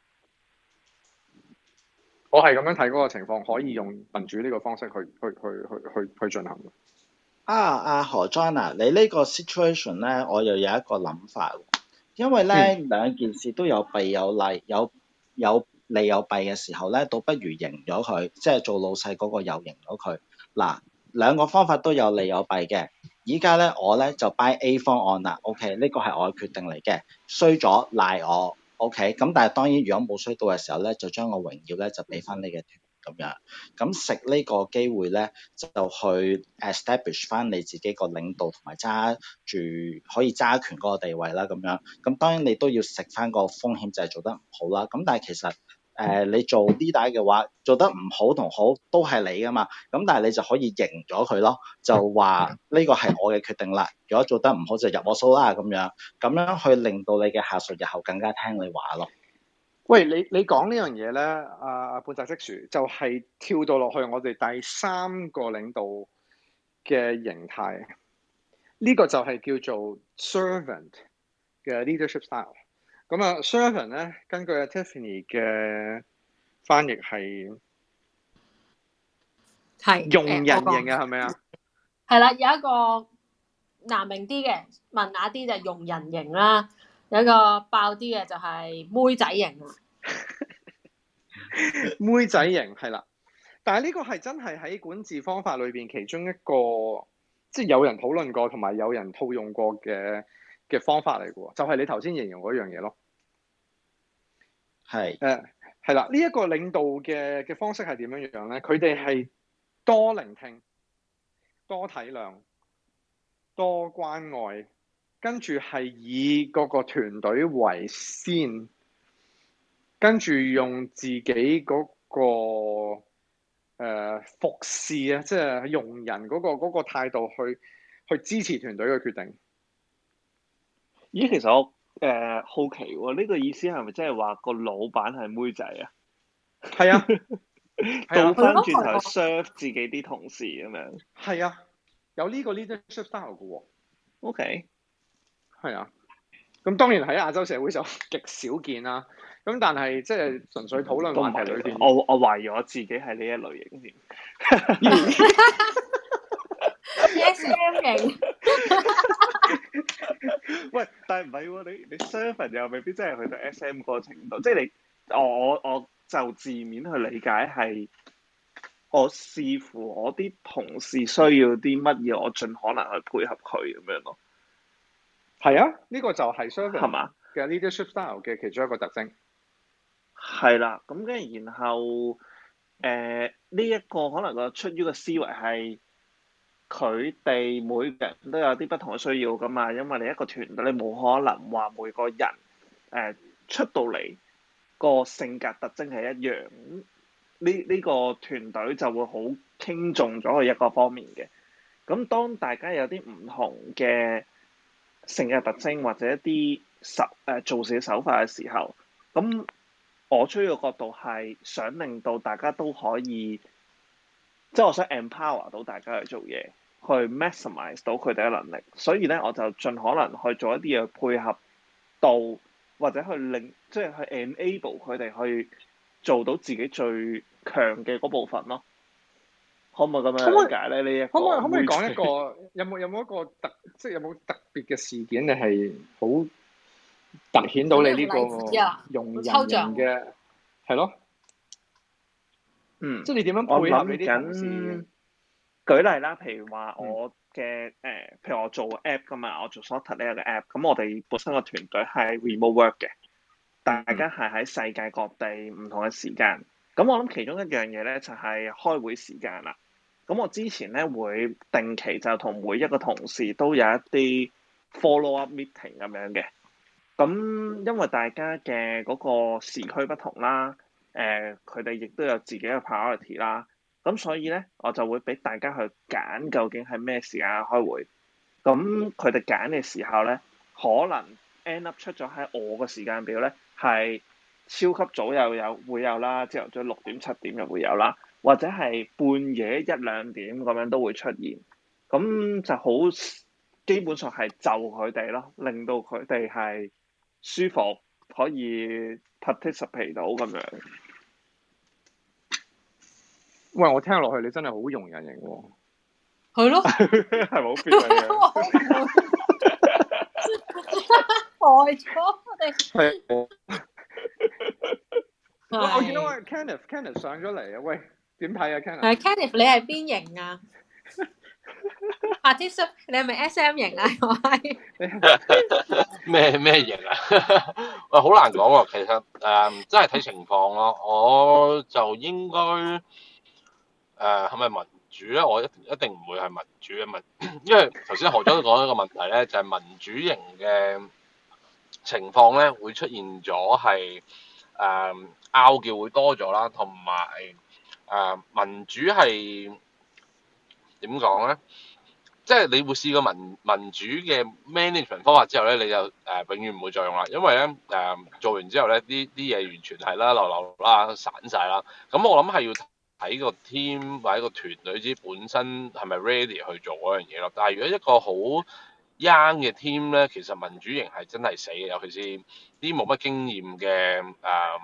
我係咁樣睇嗰個情況，可以用民主呢個方式去進行。
何莊啊，你呢個 situation 咧，我又有一個諗法，因為咧兩件事都有弊有利，有利有弊嘅時候咧，倒不如贏咗佢，即係做老細嗰個又贏咗佢。嗱，兩個方法都有利有弊嘅。依家咧我咧就 buy A 方案啦 ，OK， 呢個係我嘅決定嚟嘅，衰咗賴我。OK， 咁但係當然，如果冇衰到嘅時候咧，就將個榮耀咧就俾翻你嘅團咁樣。咁食呢個機會咧，就去 establish 翻你自己個領導同埋揸住可以揸權嗰個地位啦咁樣。咁當然你都要食翻個風險，就係做得唔好啦。咁但係其實你做 leader 嘅話，做得唔好同好都係你噶嘛。咁但係你就可以贏咗佢咯，就話呢個係我嘅決定啦。如果做得唔好就入我數啦咁樣，咁樣去令到你嘅下屬日後更加聽你話咯。
喂，你講呢樣嘢咧，半澤直樹就係跳到落去我哋第三個領導嘅形態，呢個就係叫做 servant 嘅 leadership style。咁啊 servant 咧，根據 Tiffany 嘅翻譯係用人型嘅，係咪啊？
係啦，有一個難明啲嘅，文雅啲就係用人型啦，有一個爆啲嘅就係妹仔型啊。
妹仔型係啦，但係呢個係真係喺管治方法裏邊其中一個，即係有人討論過同埋有人套用過嘅方法嚟嘅喎，就係你頭先形容嗰樣嘢咯。
係
係啦，呢一個領導嘅方式係點樣樣咧？佢哋係多聆聽、多體諒、多關愛，跟住係以嗰個團隊為先。跟住用自己嗰個服侍啊，即係用人嗰個態度去支持團隊嘅決定。
咦，其實我好奇喎，呢個意思係咪即係話個老闆係妹仔啊？
係啊，
倒翻轉頭 serve 自己啲同事咁樣。
係啊，有呢個 leadership style 嘅喎。
OK。
係啊，咁當然喺亞洲社會就極少見啦。咁但係即係純粹討論話題裏邊，
我懷疑我自己係呢一類型添。
SM 型。
喂，但係唔係喎？你 servant 又未必真係去到 SM 嗰個程度，即係我就字面去理解係我視乎我啲同事需要啲乜嘢，我盡可能去配合佢咁樣咯。
係啊，呢個就係 servant
係嘛
嘅 leadership style 嘅其中一個特徵。
係啦，咁跟住然後呢一個可能個出於個思維係佢哋每個人都有啲不同嘅需要噶嘛，因為你一個團隊你冇可能話每個人出到嚟個性格特徵係一樣，呢個團隊就會好傾重咗佢一個方面嘅。咁當大家有啲唔同嘅性格特徵或者一啲做事嘅手法嘅時候，咁我出於個角度係想令到大家都可以，即係我想 empower 到大家去做嘢，去 maximize 到佢哋嘅能力。所以咧，我就盡可能去做一啲嘢配合到，或者去令即係去 enable 佢哋去做到自己最強嘅嗰部分咯。可唔可以咁樣理解咧？呢一個
可唔可以講一個有冇一個即係有冇特別嘅事件，你係好突顯到你呢個用人型嘅係咯？即係你點樣配合你啲同事？
舉例啦，譬如話我嘅譬如我做 app 噶嘛，我做 Sorted 呢一個 app，咁我哋本身個團隊係 remote work 嘅，大家係喺世界各地唔同嘅時間。咁我諗其中一樣嘢咧就係開會時間啦。咁我之前咧會定期就同每一個同事都有一啲 follow up meeting 咁樣嘅。咁因為大家嘅嗰個時區不同啦，佢哋亦都有自己嘅 priority 啦。咁所以咧，我就會俾大家去揀究竟係咩時間開會。咁佢哋揀嘅時候咧，可能 end up 出咗喺我個時間表咧，係超級早會有啦，朝頭早6點7點又會有啦。或者係半夜1、2點咁樣都會出現，咁就好基本上係就佢哋咯，令到佢哋係舒服，可以 participate 到咁樣。
喂，我聽落去你真係好用人型喎。
係咯。
係咪好 fit 啊？
害咗我哋。
係。我見到阿 Kenneth 上咗嚟啊！喂。點睇啊 Kenneth？
Kenneth 你係邊型啊？Artist 你係咪 SM 型啊？我係
咩型啊？喂，好難講喎。其實真係睇情況咯。我就應該係咪民主咧？我一定唔會係民主嘅因為頭先何總都講一個問題咧，就係民主型嘅情況咧會出現咗係拗撬會多咗啦，同埋。民主係點講咧？即係你會試過民主嘅 management 方法之後咧，你就永遠唔會再用啦。因為咧做完之後咧，啲嘢完全係啦流啦散晒啦。咁我諗係要睇個 team 或者個團隊之本身係咪 ready 去做嗰樣嘢咯。但係如果一個好 young 嘅 team 咧，其實民主型係真係死嘅，尤其是啲冇乜經驗嘅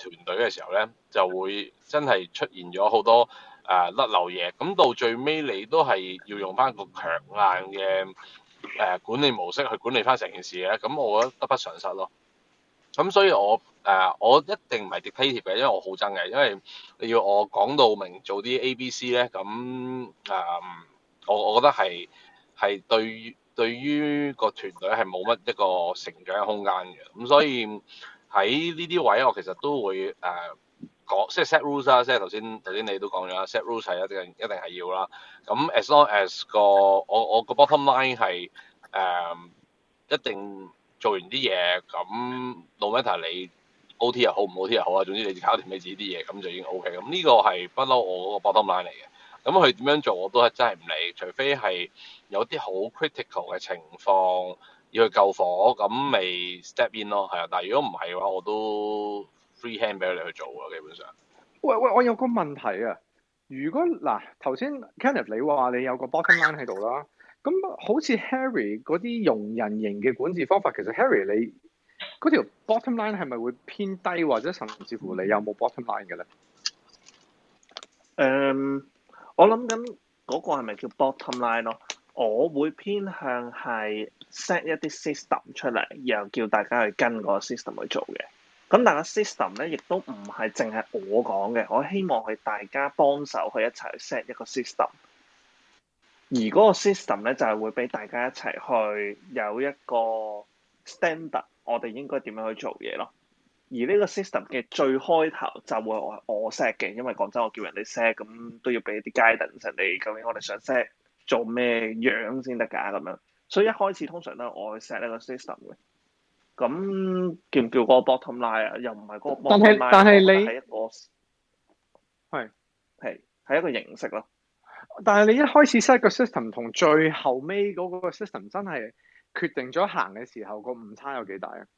團隊嘅時候咧，就會真係出現咗好多甩漏嘢。咁到最尾你都係要用翻個強硬嘅管理模式去管理翻成件事嘅。咁我覺得得不償失咯。咁所以我一定唔係 dictative 嘅，因為我好憎嘅，因為你要我講到明做啲 ABC 咧，咁我覺得係對於個團隊係冇乜一個成長嘅空間嘅。咁所以喺呢啲位我其實都會講，即係 set rules 啦，即係頭先你都講咗啦 ，set rules 係一定係要啦。咁 as long as 我個 bottom line 係一定做完啲嘢，咁 no matter 你 OT 又好唔 OT 又好啊，總之你搞掂你自己啲嘢，咁就已經 OK。咁呢個係不嬲我嗰個 bottom line 嚟嘅。咁佢點樣做我都係真係唔理，除非係有啲好 critical 嘅情況要去救火，咁未 step in 咯，係啊。但係如果唔係嘅話，我都 free hand 俾你去做啊，基本上。
喂，我有個問題啊。如果嗱頭先 Kenneth 你話你有個 bottom line 喺度啦，咁好似 Harry 嗰啲容人型嘅管治方法，其實 Harry 你嗰條 bottom line 係咪會偏低，或者甚至乎你有冇 bottom line 嘅咧？
我諗緊嗰個係咪叫 bottom line 咯？我會偏向係 set 一啲 system 出嚟，然後叫大家去跟個 system 去做嘅。咁但係個 system 咧，亦都唔係淨係我講嘅，我希望係大家幫手去一齊去 set 一個 system。而嗰個 system 咧就係會俾大家一齊去有一個 standard，我哋應該點樣去做嘢咯。而呢個 system 嘅最開頭就會我 set 嘅，因為講真，我叫人哋 set 咁都要俾啲 guidance 人哋，究竟我哋想 set 做咩樣先得㗎咁樣。所以一開始通常都係我去 set 呢個 system 嘅。咁叫唔叫嗰個 bottom line 啊？又唔係嗰個 bottom line，
但係你
係一個係一個形式咯。
但係你一開始 set 個 system 同最後尾嗰個 system 真係決定咗行嘅時候，個誤差有幾大啊？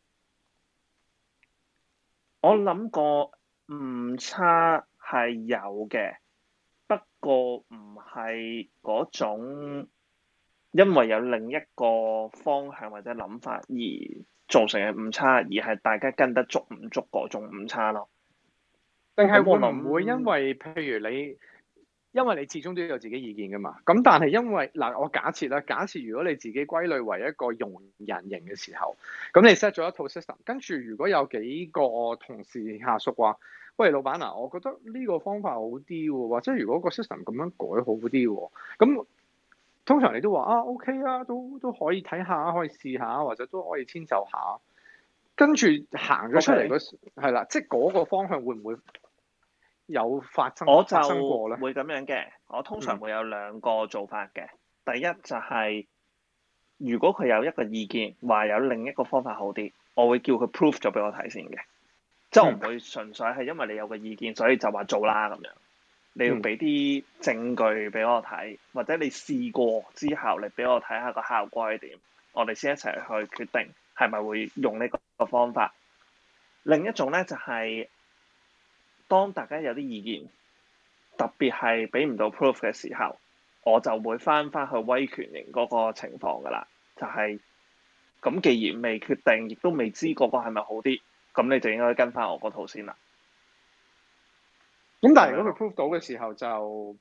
我諗個誤差係有嘅，不過唔係嗰種因為有另一個方向或者諗法而造成嘅誤差，而係大家跟得足唔足嗰種誤差咯。
定係會唔會因為譬如因為你始終都有自己意見㗎嘛？咁但係因為我假設如果你自己歸類為一個容人型嘅時候，咁你 set 咗一套 system， 跟住如果有幾個同事下屬話：喂，老闆我覺得呢個方法好啲喎，或者如果個 system 咁樣改好啲喎，咁通常你都話OK 啊，都可以睇下，可以試下，或者都可以遷就下，跟住行咗出嚟係啦，即係嗰個方向會唔會有發生過咧？
我就會咁樣嘅，我通常會有兩個做法嘅。第一就係如果佢有一個意見話有另一個方法好啲，我會叫佢 prove 咗俾我睇先嘅，即係我唔會純粹係因為你有個意見所以就話做啦咁樣。你要俾啲證據俾我睇，或者你試過之後你俾我睇下個效果係點，我哋先一齊去決定係咪會用呢個方法。另一種咧就係當大家有啲意見，特別係俾唔到 proof 嘅時候，我就會翻去威權型嗰個情況㗎啦。就係咁，既然未決定，亦都未知嗰個係咪好啲，咁你就應該跟翻我嗰套先啦。
咁但係如果佢 prove 到嘅時候，就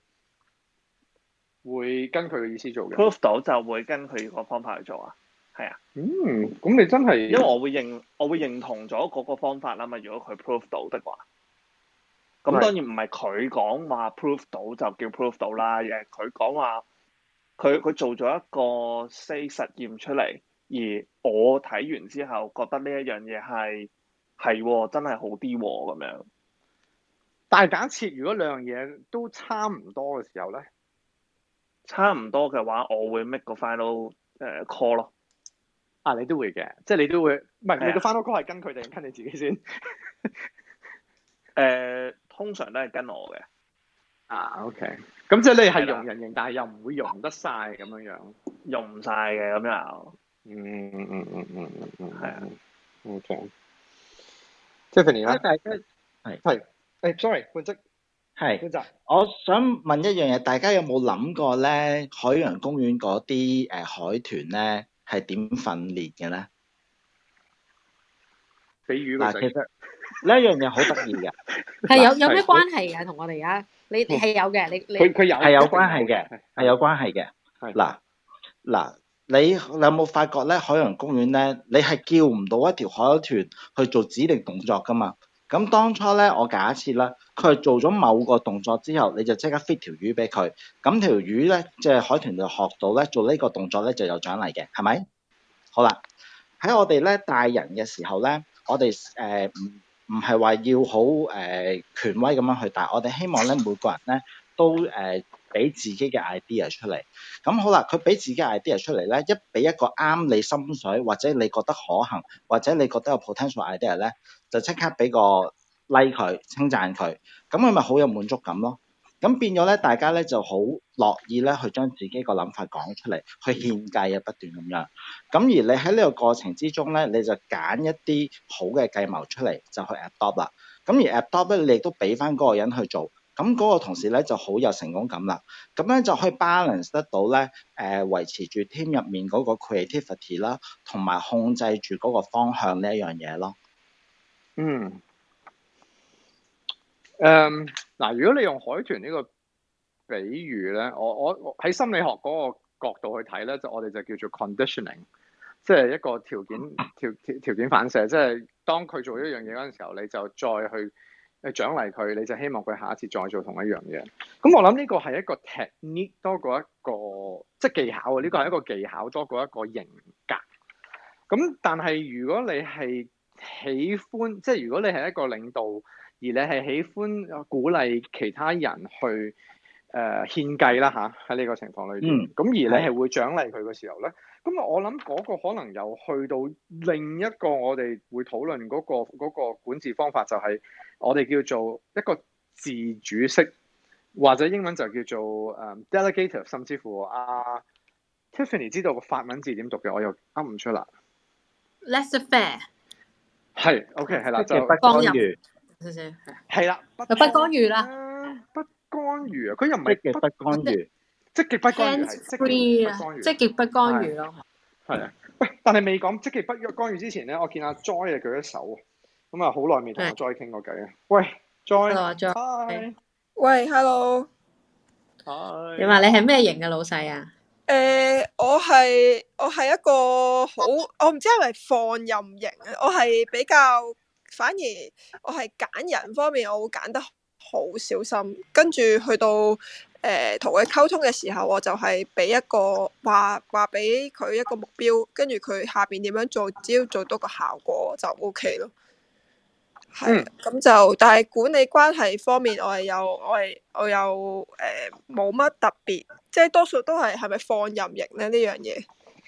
會跟佢嘅意思做嘅。
prove 到就會跟佢個方法去做啊，係啊。
咁你真係因為
我會認同咗嗰個方法啦嘛。如果佢 prove 到的話，咁當然唔係佢講話 prove 到就叫 prove 到啦，而係佢講話佢做咗一個實驗出嚟，而我睇完之後覺得呢一樣嘢係真係好啲咁樣。
但係假設如果兩樣嘢都差唔多嘅時候咧，
差唔多嘅話，我會 make 個 final call 咯。
你都會嘅，即係你都會，唔係你個 final call 係跟佢定跟你自己先？
通常都係跟我嘅。
OK，咁即係你係容人型，但係又唔會容得晒咁樣，
容唔晒嘅咁又。
係啊。OK。Tiffany 咧，
大家
係，sorry，本職
係。我想問一樣嘢，大家有冇諗過咧？海洋公園嗰啲海豚咧係點訓練嘅咧？
俾魚佢食。
呢一樣嘢好得意嘅。
係有咩關係㗎？同我哋而家你係有嘅，你
佢有
係有關係嘅，係有關係嘅。嗱，你有冇發覺咧？海洋公園咧，你係叫唔到一條海鷗去做指定動作噶嘛？咁當初咧，我假設啦，佢係做咗某個動作之後，你就即刻 fit 條魚俾佢，咁條魚咧，即係海豚就學到咧做呢個動作咧就有獎勵嘅，係咪？好啦，喺我哋咧帶人嘅時候咧，我哋唔係話要好權威咁樣去帶，我哋希望咧每個人咧都俾自己嘅 idea 出嚟。咁好啦，佢俾自己 idea 出嚟咧，一俾一個啱你心水，或者你覺得可行，或者你覺得有 potential idea 咧，就即刻俾個 like 佢，稱讚佢，咁佢咪好有滿足感咯。咁變咗咧，大家咧就好樂意咧去將自己個諗法講出嚟，去獻計啊，不斷咁樣。咁而你喺呢個過程之中咧，你就揀一啲好嘅計謀出嚟，就去 adopt 啦。咁而 adopt 咧，你亦都俾翻嗰個人去做。咁嗰個同事咧就好有成功感啦，咁樣就可以 balance 得到咧，維持住 team 入面嗰個 creativity 啦，同埋控制住嗰個方向呢一樣嘢咯。
嗱，如果你用海豚呢個比喻咧，我喺心理學嗰個角度去睇咧，就我哋就叫做 conditioning， 即係一個條件反射，即係當佢做一樣嘢嗰陣時候，你就再去獎勵佢，你就希望佢下一次再做同一樣嘢。咁我諗呢個係一個 technique 多過一個即係技巧啊！呢個係一個技巧多過一個型格。咁但係如果你係喜歡，即係如果你係一個領導，而你係喜歡鼓勵其他人去獻計啦嚇，喺呢個情況裏邊，咁而你係會獎勵佢嘅時候咧，咁我諗嗰個可能又去到另一個我哋會討論嗰個管治方法，就係我哋叫做一個自主式，或者英文就叫做delegative， 甚至乎Tiffany 知道個法文字點讀嘅，我又噏唔出啦。
Laissez-faire 係
OK 係啦，就
不干預，
係啦，
不干預啦，
不干預啊，佢又唔係
不干預，
積極不干預係
積極不干預咯。
係啊，喂，但係未講積極不干預之前咧，我見阿 Joy 舉咗手，咁啊好耐未同阿 Joy 傾過偈啊。喂 ，Joy，Hi，
喂 ，Hello，
你話你係咩型嘅老細啊？
我係一個好，我唔知係咪放任型啊，我係比較，反而我係揀人方面我會揀得好小心，跟住去到同佢溝通嘅時候，我就係俾一個話俾佢一個目標，跟住佢下邊點樣做，只要做到個效果就 OK 咯。係，咁就但係管理關係方面，我有冇乜特別，即係多數都係咪放任型咧呢樣嘢？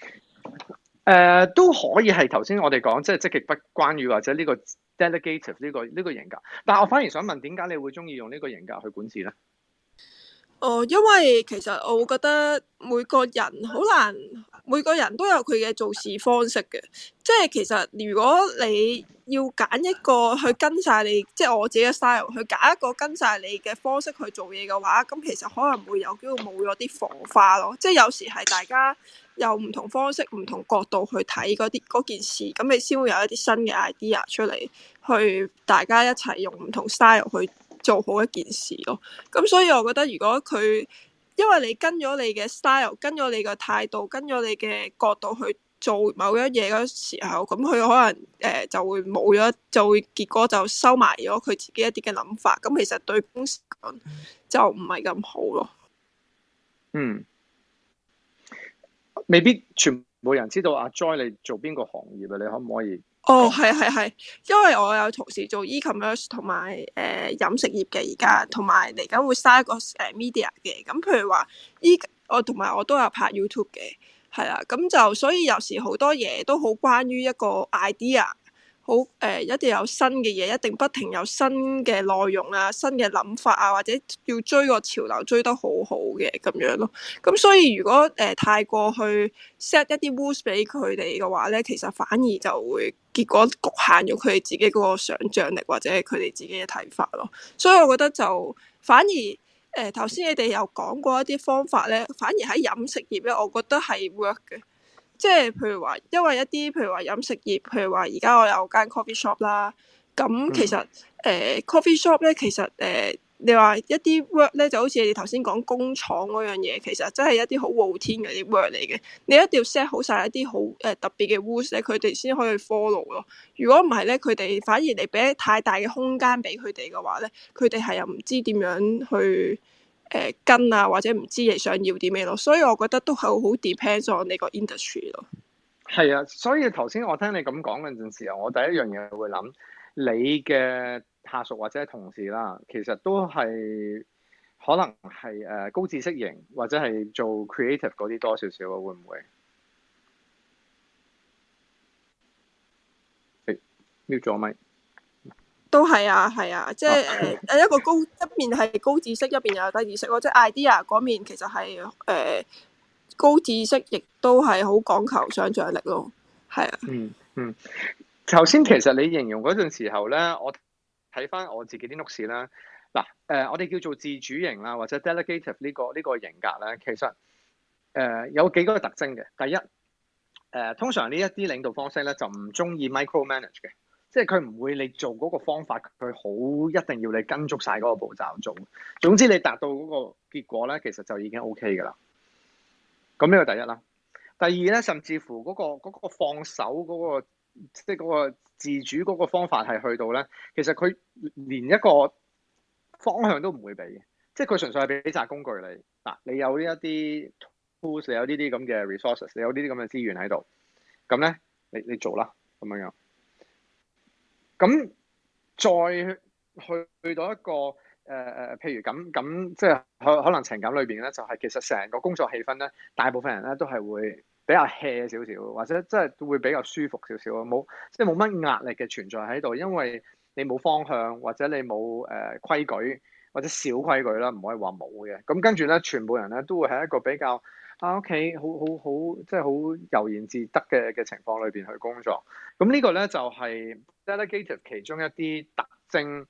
都可以係頭先我哋講，即係積極不干預或者呢個 delegative 呢個型格。但係我反而想問，點解你會中意用呢個型格去管治咧？
因為其實我會覺得每個人好難，每個人都有佢嘅做事方式嘅。即係其實如果你要揀一個去跟晒你，即係我自己嘅 style， 去揀一個跟晒你嘅方式去做嘢嘅話，咁其實可能會有機會冇咗啲火花咯。即係有時係大家有唔同方式、唔同角度去睇嗰件事，咁你先會有一啲新嘅 idea 出嚟，去大家一齊用唔同 style 去做好一件事咯。咁所以我覺得如果佢因為你跟咗你嘅 style， 跟咗你嘅態度，跟咗你嘅角度去做某一嘢嗰時候，咁佢可能就會冇咗，就會結果就收埋咗佢自己一啲嘅諗法。咁其實對公司講就唔係咁好咯。
未必全部人知道阿 Joy 你做邊個行業啊？你可唔可以？
係，因為我有同時做 e-commerce 同埋飲食業嘅而家，同埋嚟緊會嘥一個media 嘅。咁譬如話我同埋我都有拍 YouTube 嘅，係啦。咁就所以有時好多嘢都好關於一個 idea， 好一定有新嘅嘢，一定不停有新嘅內容啊、新嘅諗法啊，或者要追個潮流追得好好嘅咁樣咯。咁所以如果太過去 set 一啲 rules 俾佢哋嘅話咧，其實反而就會結果局限咗佢哋自己嗰個想像力或者佢哋自己嘅睇法咯。所以我覺得就反而頭先你哋有講過一啲方法咧，反而喺飲食業咧，我覺得係 work 嘅。即係譬如話，因為一啲譬如話飲食業，譬如話而家我有間 coffee shop 啦， 咁其實coffee shop 咧，其實你話一啲 work 咧，就好似你頭先講工廠嗰樣嘢，其實真係一啲好 routine 嘅啲 work 嚟嘅。你一定要 set 好晒一啲好特別嘅 rules 咧，佢哋先可以 follow 咯。如果唔係咧，佢哋反而你俾太大嘅空間俾佢哋嘅話咧，佢哋係又唔知點樣去跟啊，或者唔知你想要啲咩咯。所以我覺得都係好 depends on 你個 industry 咯。
係啊，所以頭先我聽你咁講嗰陣時候，我第一樣嘢會諗你嘅下屬或者同事啦，其實都係可能係高知識型或者係做 creative 嗰啲多少少啊，會唔會？mute 咗咪？
都係啊，係啊，即係一個一面係高知識，一邊又有低知識咯。即係 idea 嗰面其實係高知識，亦都係好講求想像力咯。係啊。
頭先其實你形容嗰陣時候咧，我睇翻我自己啲 notes 啦。嗱，我哋叫做自主型啦，或者 delegative 呢個型格咧，其實有幾個特徵嘅。第一，通常呢一啲領導方式咧就唔中意 micromanage 嘅，即係佢唔會你做嗰個方法，佢好一定要你跟足晒嗰個步驟做。總之你達到嗰個結果咧，其實就已經 OK 㗎啦。咁呢個第一啦。第二咧，甚至乎嗰個放手嗰個，即係嗰個自主嗰個方法係去到咧，其實佢連一個方向都唔會俾嘅，即係佢純粹係俾紮工具你。嗱，你有呢一啲 tools，你有呢啲咁嘅 resources，你有呢啲咁嘅資源喺度，咁咧你做啦咁樣樣。咁再去到一個譬如咁，即係可能情感裏邊咧，就係其實成個工作氣氛咧，大部分人咧都係會比較 hea 少少，或者即係會比較舒服少少，冇即係冇乜壓力嘅存在喺度，因為你冇方向，或者你冇規矩，或者小規矩啦，唔可以話冇嘅。咁跟住咧，全部人咧都會喺一個比較OK，好即係好悠然自得嘅情況裏邊去工作。咁呢個咧就係 delegative 其中一啲特徵。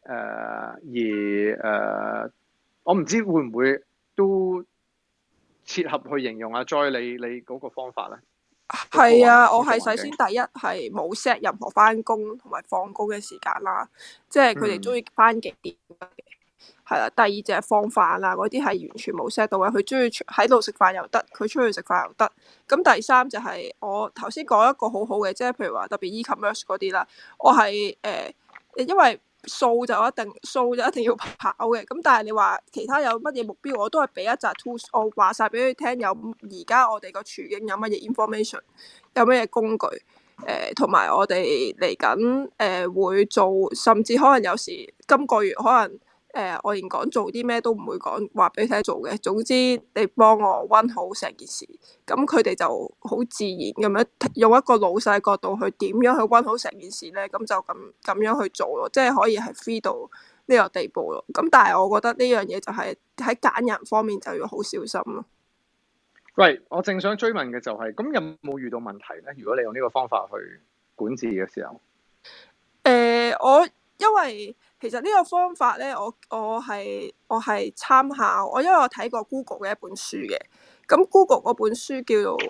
我唔知會唔會都切合去形容阿 Joy 你嗰個方法咧？
係啊，我係首先第一係冇 set 任何翻工同埋放工嘅時間啦，即係佢哋中意翻幾點嘅，係啦。第二就係放飯啦，嗰啲係完全冇 set 到嘅，佢中意喺度食飯又得，佢出去食飯又得。咁第三就係我頭先講一個好好嘅，即係譬如話特別 e-commerce 嗰啲啦，我係因為數就一定要跑嘅，咁但係你話其他有乜嘢目標，我都係俾一紮 tools，我話晒俾佢聽，有而家我哋個處境有乜嘢 information， 有乜嘢工具，同埋我哋嚟緊會做，甚至可能有時今個月可能我連講做啲咩都唔會講，話俾你聽做嘅。總之你幫我温好成件事，咁佢哋就好自然咁樣用一個老細角度去點樣去温好成件事咧，咁就咁樣去做咯，即係可以係 free 到呢個地步咯。咁但係我覺得呢樣嘢就係喺揀人方面就要好小心咯。
喂，我正想追問嘅就係，咁有冇遇到問題咧？如果你用呢個方法去管治嘅時候，
因為其實呢個方法咧，我係參考因為我睇過 Google 嘅一本書嘅，咁 Google 嗰本書叫做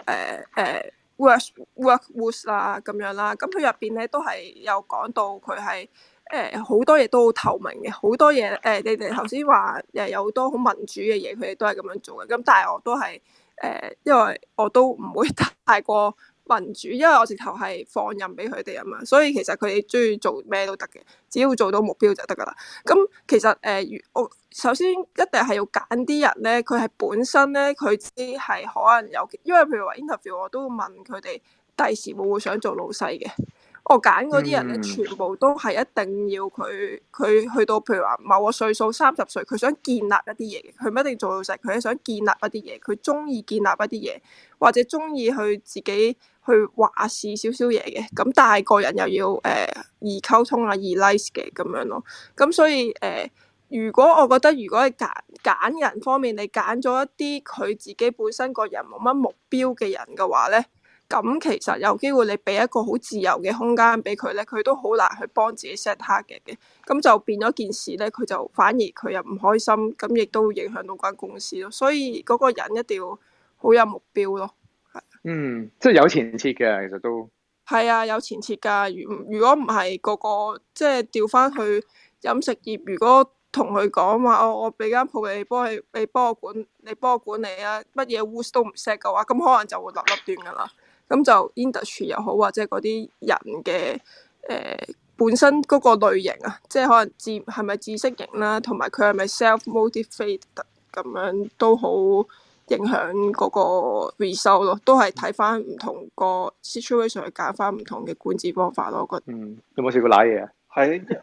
Work Rules 啦咁樣啦，咁佢入邊咧都係有講到佢係好多嘢都好透明嘅，好多嘢你哋頭先話有好多好民主嘅嘢，佢哋都係咁樣做嘅，咁但係我都係因為我都唔會太過民主，因為我直頭係放任俾佢哋啊嘛，所以其實佢哋中意做咩都得嘅，只要做到目標就得噶啦。咁其實我首先一定係要揀啲人咧，佢係本身咧佢知係可能有，因為譬如話 interview 我都會問佢哋第時會唔會想做老細嘅。我揀嗰啲人咧，全部都係一定要佢去到譬如話某個歲數30歲，佢想建立一啲嘢，佢唔一定做老細，佢係想建立一啲嘢，佢中意建立一啲嘢，或者中意去自己去話事少少嘢嘅。咁但係個人又要易溝通啊，易 nice 嘅咁樣咯。咁所以如果我覺得如果係揀人方面，你揀咗一啲佢自己本身個人冇乜目標嘅人嘅話咧，咁其實有機會你俾一個好自由嘅空間俾佢咧，佢都好難去幫自己 set target 嘅，咁就變咗件事咧，佢就反而佢又唔開心，咁亦都會影響到間公司咯。所以嗰個人一定要好有目標咯，係。
即係有前設嘅，其實都
係啊，有前設㗎。如果唔係個個即係調翻去飲食業，如果同佢講話，我俾間鋪你幫我管理啊，乜嘢 rules 都唔 set 嘅話，咁可能就會立立亂㗎啦。咁就 industry 又好，或者嗰啲人嘅本身嗰個類型啊，即係可能係咪知識型啦，同埋佢係咪 self-motivated 咁樣都好影響嗰個 result 咯，都係睇翻唔同個 situation 去揀翻唔同嘅管治方法咯，我覺得。
有冇試過瀨嘢啊？
係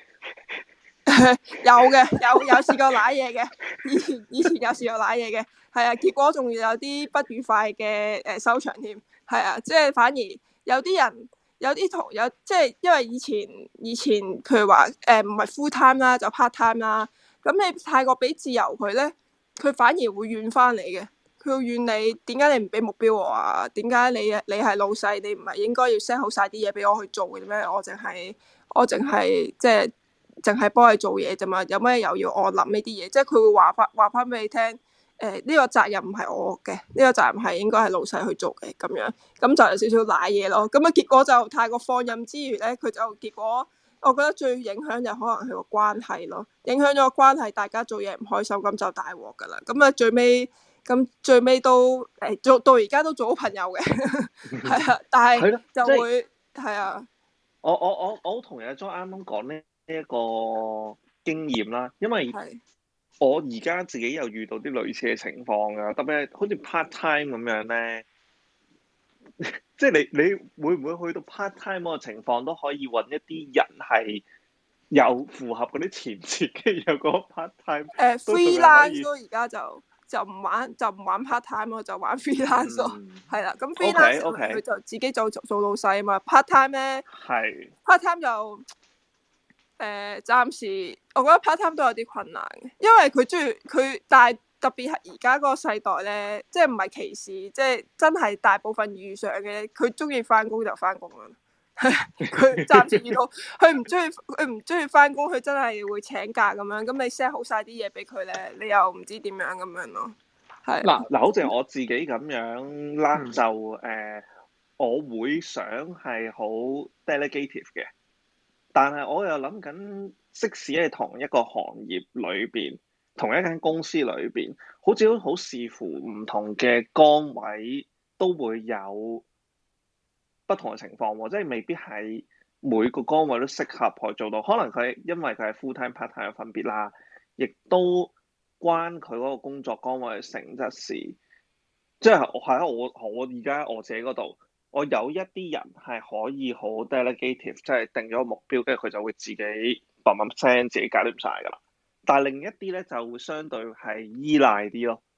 有嘅，有試過瀨嘢嘅，以前有試過瀨嘢嘅，係啊，結果仲要有啲不愉快嘅收場添，係啊，即係反而有啲人有啲即係因為以前譬如話唔係 full time 啦，就 part time 啦，咁你太過俾自由佢咧，佢反而會怨翻你嘅，佢會怨你點解你唔俾目標我啊？點解你係老細，你唔係應該要 set 好晒啲嘢俾我去做嘅咩？我淨係即係淨係幫你做嘢啫嘛，有咩又要我諗呢啲嘢？即係佢會話翻俾你聽，呢個責任唔係我嘅，呢個責任係應該係老細去做嘅咁樣，咁就有少少賴嘢咯。咁啊結果就太過放任之餘咧，佢就結果我覺得最影響就可能係個關係咯，影響咗個關係，大家做嘢唔開心，咁就大鑊噶啦。咁啊最尾都做到而家都做好朋友嘅，係啊，但係就會係啊。
我好同意阿 John 啱啱講呢一個經驗啦，因為我而家自己又遇到啲類似嘅情況啊，特別係好似 part time 咁樣咧，即係你會唔會去到 part time 嗰個情況都可以揾一啲人係有符合嗰啲前設嘅，有個 part time
freelance 咯，而家就唔玩 part time 咯，就玩 freelance 咯，係啦。咁 freelance 佢就自己做老細啊嘛。part time 咧，part time 就暫時我覺得 part time 都有啲困難嘅，因為佢中意佢，但係特別係而家嗰個世代咧，即係唔係歧視，即係真係大部分遇上嘅，佢中意翻工就翻工啦。佢暫時遇到佢唔中意翻工，佢真係會請假咁樣。咁你 set 好晒啲嘢俾佢咧，你又唔知點樣咁樣咯。係
嗱，好似我自己咁樣啦，就我會想係好 delegative 嘅，但係我又諗緊，即使係同一個行業裏邊，同一間公司裏邊，好似好視乎唔同嘅崗位都會有不同嘅情況喎，即係未必係每個崗位都適合去做到，可能因為佢係 full time part time 嘅分別啦，亦都關佢嗰個工作崗位嘅性質事。即係我而家我自己嗰度，我有一啲人係可以好 delegative，即係定咗個目標，跟住佢就會自己砰聲自己搞掂晒㗎啦。但係另一啲咧就會相對係依賴啲咯。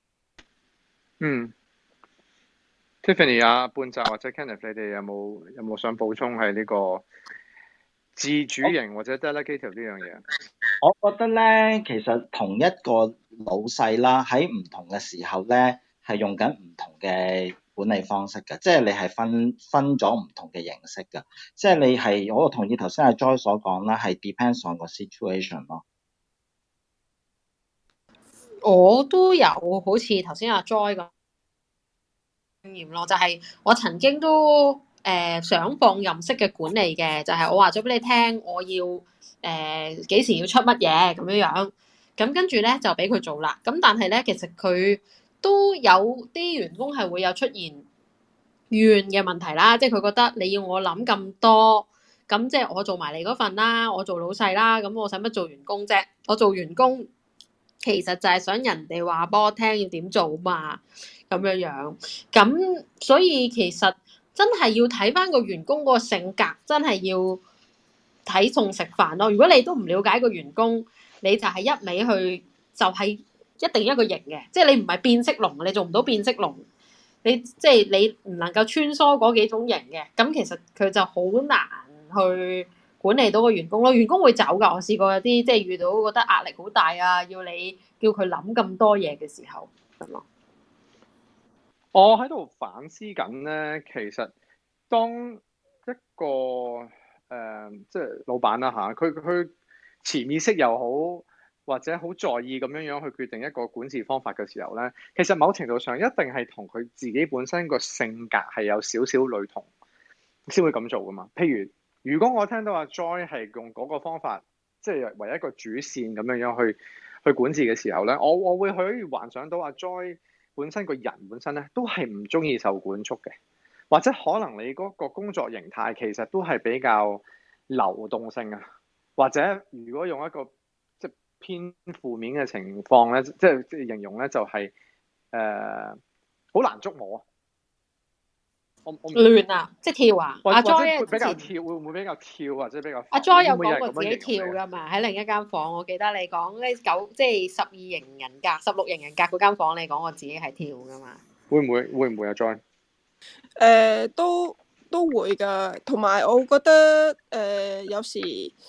Tiffany 啊，半澤或者 Kenneth， 你哋有冇想補充係呢個自主型或者 delegative 呢樣嘢？
我覺得咧，其實同一個老細啦，喺唔同嘅時候咧，係用緊唔同嘅管理方式嘅，即係你係分咗唔同嘅形式嘅，即係你係我同意頭先阿 Joy 所講啦，係 depends on 個 situation 咯。
我都有好似頭先阿 Joy 咁經驗咯，就係我曾經都想放任式嘅管理嘅，就係我話咗俾你聽，我要幾時要出乜嘢咁樣樣，咁跟住咧就俾佢做啦。咁但係咧，其實佢都有啲員工係會有出現怨嘅問題啦，即係佢覺得你要我諗咁多，咁即係我做埋你嗰份啦，我做老細啦，咁我使乜做員工啫？我做員工其實就係想人哋話幫我聽要點做嘛，咁樣樣。咁所以其實真係要睇翻個員工個性格，真係要睇餸食飯咯。如果你都唔了解個員工，你就係一味去就係一定一個型嘅，即係你唔係變色龍，你做唔到變色龍，你即係你唔能夠穿梭嗰幾種型嘅，咁其實佢就好難去管理到個員工咯。員工會走㗎，我試過有啲即係遇到覺得壓力好大啊，要你叫佢諗咁多嘢嘅時候咁咯。
我喺度反思緊咧，其實當一個即係老闆啦嚇，佢潛意識又好，或者好在意咁樣去決定一個管治方法嘅時候咧，其實某程度上一定係同佢自己本身個性格係有少少類同。 先會咁做噶嘛。譬如果我聽到阿 Joy 係用嗰個方法，即係為一個主線咁樣去管治嘅時候咧，我會去幻想到阿 Joy 本身個人本身咧都係唔中意受管束嘅，或者可能你嗰個工作形態其實都係比較流動性啊，或者如果用一個即係偏負面嘅情況咧，即係形容咧就係好難捉摸啊！我
亂啊，即係跳啊！阿 Joy
比較跳，會唔會比較跳或者比較？
阿 Joy 有講過自己跳㗎嘛？喺另一間房，我記得你講呢即係12型人格、16型人格嗰間房，你講過自己係跳㗎嘛？
會唔會阿 Joy？
都會㗎，同埋我覺得有時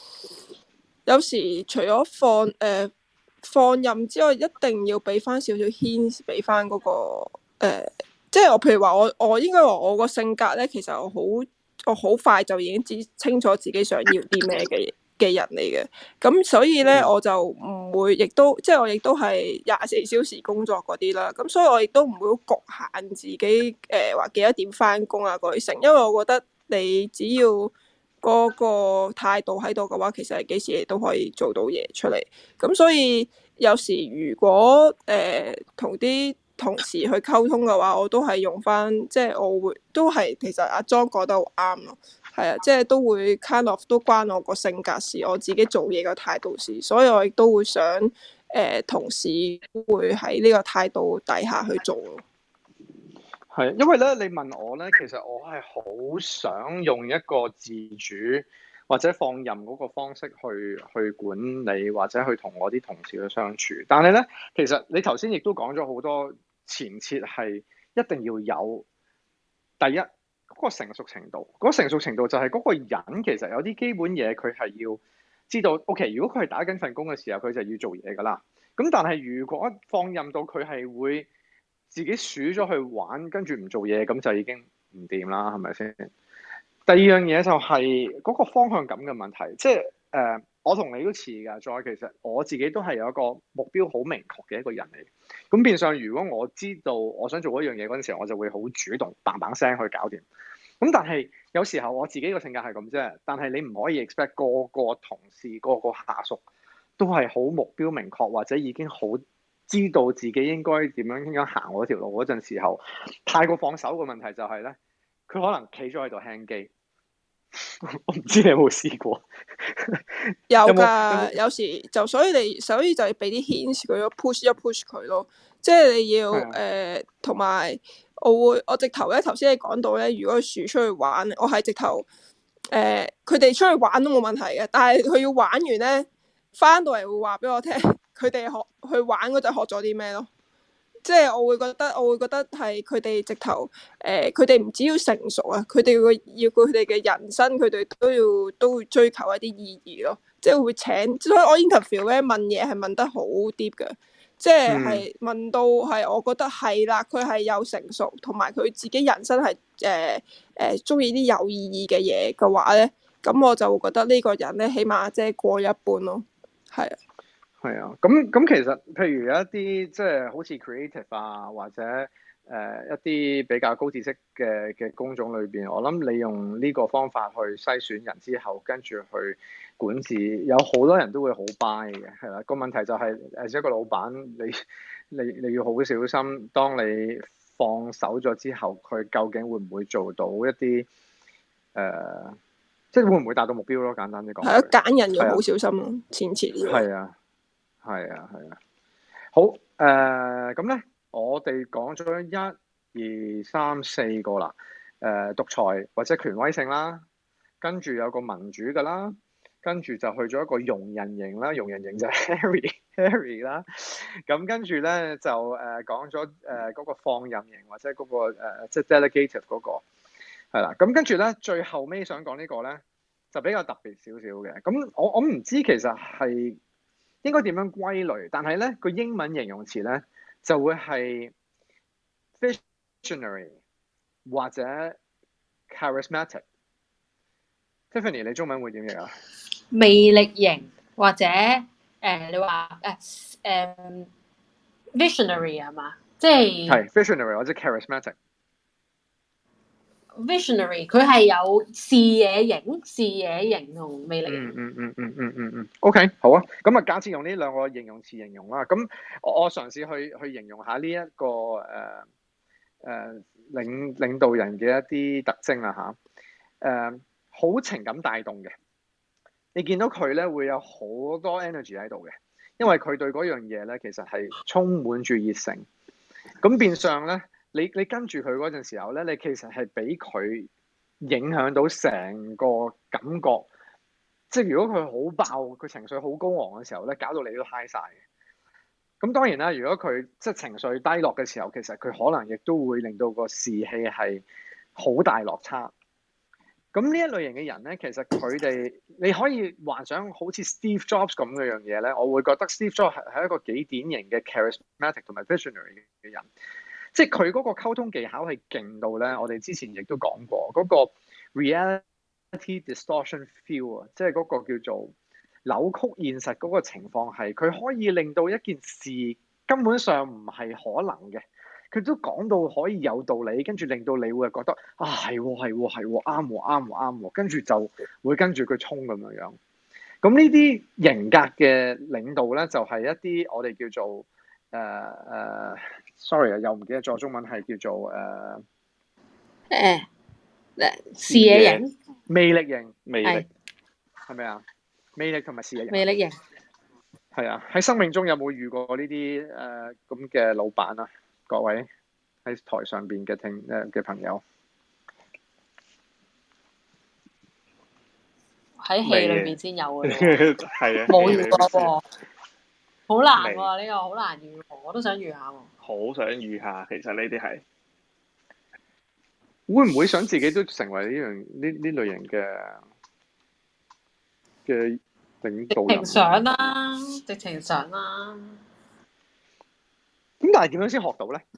除咗放任之外，一定要俾翻少少 hint 俾翻嗰個即係我譬如話我應該話我個性格咧，其實我好快就已經知清楚自己想要啲咩嘅人嚟嘅，咁所以咧我就唔會，亦都我亦都係24小時工作嗰啲啦，咁所以我亦都唔會好局限自己話幾多點翻工啊嗰啲成，因為我覺得你只要嗰個態度喺度嘅話，其實係幾時你都可以做到嘢出嚟，咁所以有時如果同啲同事去溝通嘅話，我都係用翻，即係我會都係其實阿莊講得好啱咯，係啊，即係都會 kind of 都關我個性格事，我自己做嘢嘅態度事，所以我亦都會想同事會喺呢個態度底下去做咯。
係，因為咧你問我咧，其實我係好想用一個自主或者放任嗰個方式去管理或者去同我啲同事去相處，但係咧其實你頭先亦都講咗好多。前設係一定要有第一嗰個成熟程度，嗰個成熟程度就係嗰個人其實有啲基本嘢佢係要知道。OK， 如果佢係打緊份工嘅時候，佢就要做嘢㗎啦。咁但係如果放任到佢係會自己數咗去玩，跟住唔做嘢，咁就已經唔掂啦，係咪先？第二樣嘢就係嗰個方向感嘅問題，即係我同你都似㗎。再其實我自己都係有一個目標好明確嘅一個人嚟。咁變相，如果我知道我想做一樣嘢嗰陣時候，我就會好主動嘭嘭聲去搞掂。咁但係有時候我自己個性格係咁啫。但係你唔可以 expect 個個同事、個個下屬都係好目標明確，或者已經好知道自己應該點樣行嗰條路嗰陣時候，太過放手嘅問題就係咧，佢可能企咗喺度輕機。我唔知你有冇試過？
有㗎，有時就所以就要俾啲 hint 佢咯，push 一 push 佢咯。即係你要同埋我直頭咧，頭先你講到咧，如果佢出去玩，我係直頭佢哋出去玩都冇問題嘅，但係佢要玩完咧，翻到嚟會話俾我聽，佢哋去玩嗰陣學咗啲咩咯。即係我會覺得係佢哋直頭佢哋唔只要成熟啊，佢哋要佢哋嘅人生，佢哋都會追求一啲意義咯。即係會請，所以我 interview 咧問嘢係問得好 deep 嘅，即係問到係我覺得係啦，佢係有成熟，同埋佢自己人生係中意啲有意義嘅嘢嘅話咧，咁我就會覺得呢個人咧起碼即係過一半咯，係啊。
係啊，咁其實譬如有一啲即係好似 creative 啊，或者一啲比較高知識嘅工種裏邊，我諗你用呢個方法去篩選人之後，跟住去管治，有好多人都會好 buy 嘅，係啦。個問題就係誒一個老闆，你要好小心，當你放手咗之後，佢究竟會唔會做到一啲即係會唔會達到目標咯？簡單啲講。係啊，
揀人要好小心咯，前設。
係啊。係啊，好咁咧，我哋講咗1、2、3、4個啦，獨裁或者權威性啦，跟住有個民主㗎啦，跟住就去咗一個容人型啦，容人型就係 Harry 啦，咁跟住咧就講咗嗰個放任型或者嗰個即係 delegative 嗰個係啦，咁跟住咧最後尾想講呢個咧就比較特別少少嘅，咁我唔知其實係應該點樣歸類？但係咧個英文形容詞咧就會係 visionary 或者 charismatic。Tiffany， 你中文會點樣啊？
魅力型或者你話visionary 係嘛？即係
visionary 或者 charismatic。
visionary，佢係有視野型同魅力型。
OK， 好啊。咁啊，假設用呢兩個形容詞形容啦。咁我嘗試去形容下呢一個領導人嘅一啲特徵啦嚇。好情感帶動嘅，你見到佢咧會有好多 energy 喺度嘅，因為佢對嗰樣嘢咧其實係充滿住熱誠。咁變相咧，你跟住佢嗰陣時候咧，你其實係俾佢影響到成個感覺。即係如果佢好爆，佢情緒好高昂嘅時候咧，搞到你都 high 晒嘅。咁當然啦，如果佢即係情緒低落嘅時候，其實佢可能亦都會令到個士氣係好大落差。咁呢一類型嘅人咧，其實佢哋你可以幻想好似 Steve Jobs 咁嘅樣嘢咧，我會覺得 Steve Jobs 係一個幾典型嘅 charismatic 同埋 visionary 嘅人，即係佢嗰個溝通技巧係勁到咧。我哋之前亦都講過嗰個 reality distortion feel 啊，即係嗰個叫做扭曲現實嗰個情況係，佢可以令到一件事根本上唔係可能嘅。佢都講到可以有道理，跟住令到你會覺得啊係啱，跟住就會跟住佢衝咁樣。咁呢啲型格嘅領導咧，就係一啲我哋叫做sorry 啊，又唔記得咗中文係叫做
視野型、
魅力型、
係
咪啊？魅力同埋視野型。
魅力型
係啊！喺生命中有冇遇過呢啲咁嘅老闆啊？各位喺台上邊嘅嘅朋友，
喺戲裏邊先有嘅，
係啊，
冇遇過喎，好難喎，呢個好難遇喎，我都想遇下喎。
好想遇下，其實呢啲係
會唔會想自己都成為呢類型嘅領導人？
直情想啦。
咁但係點樣先學到咧？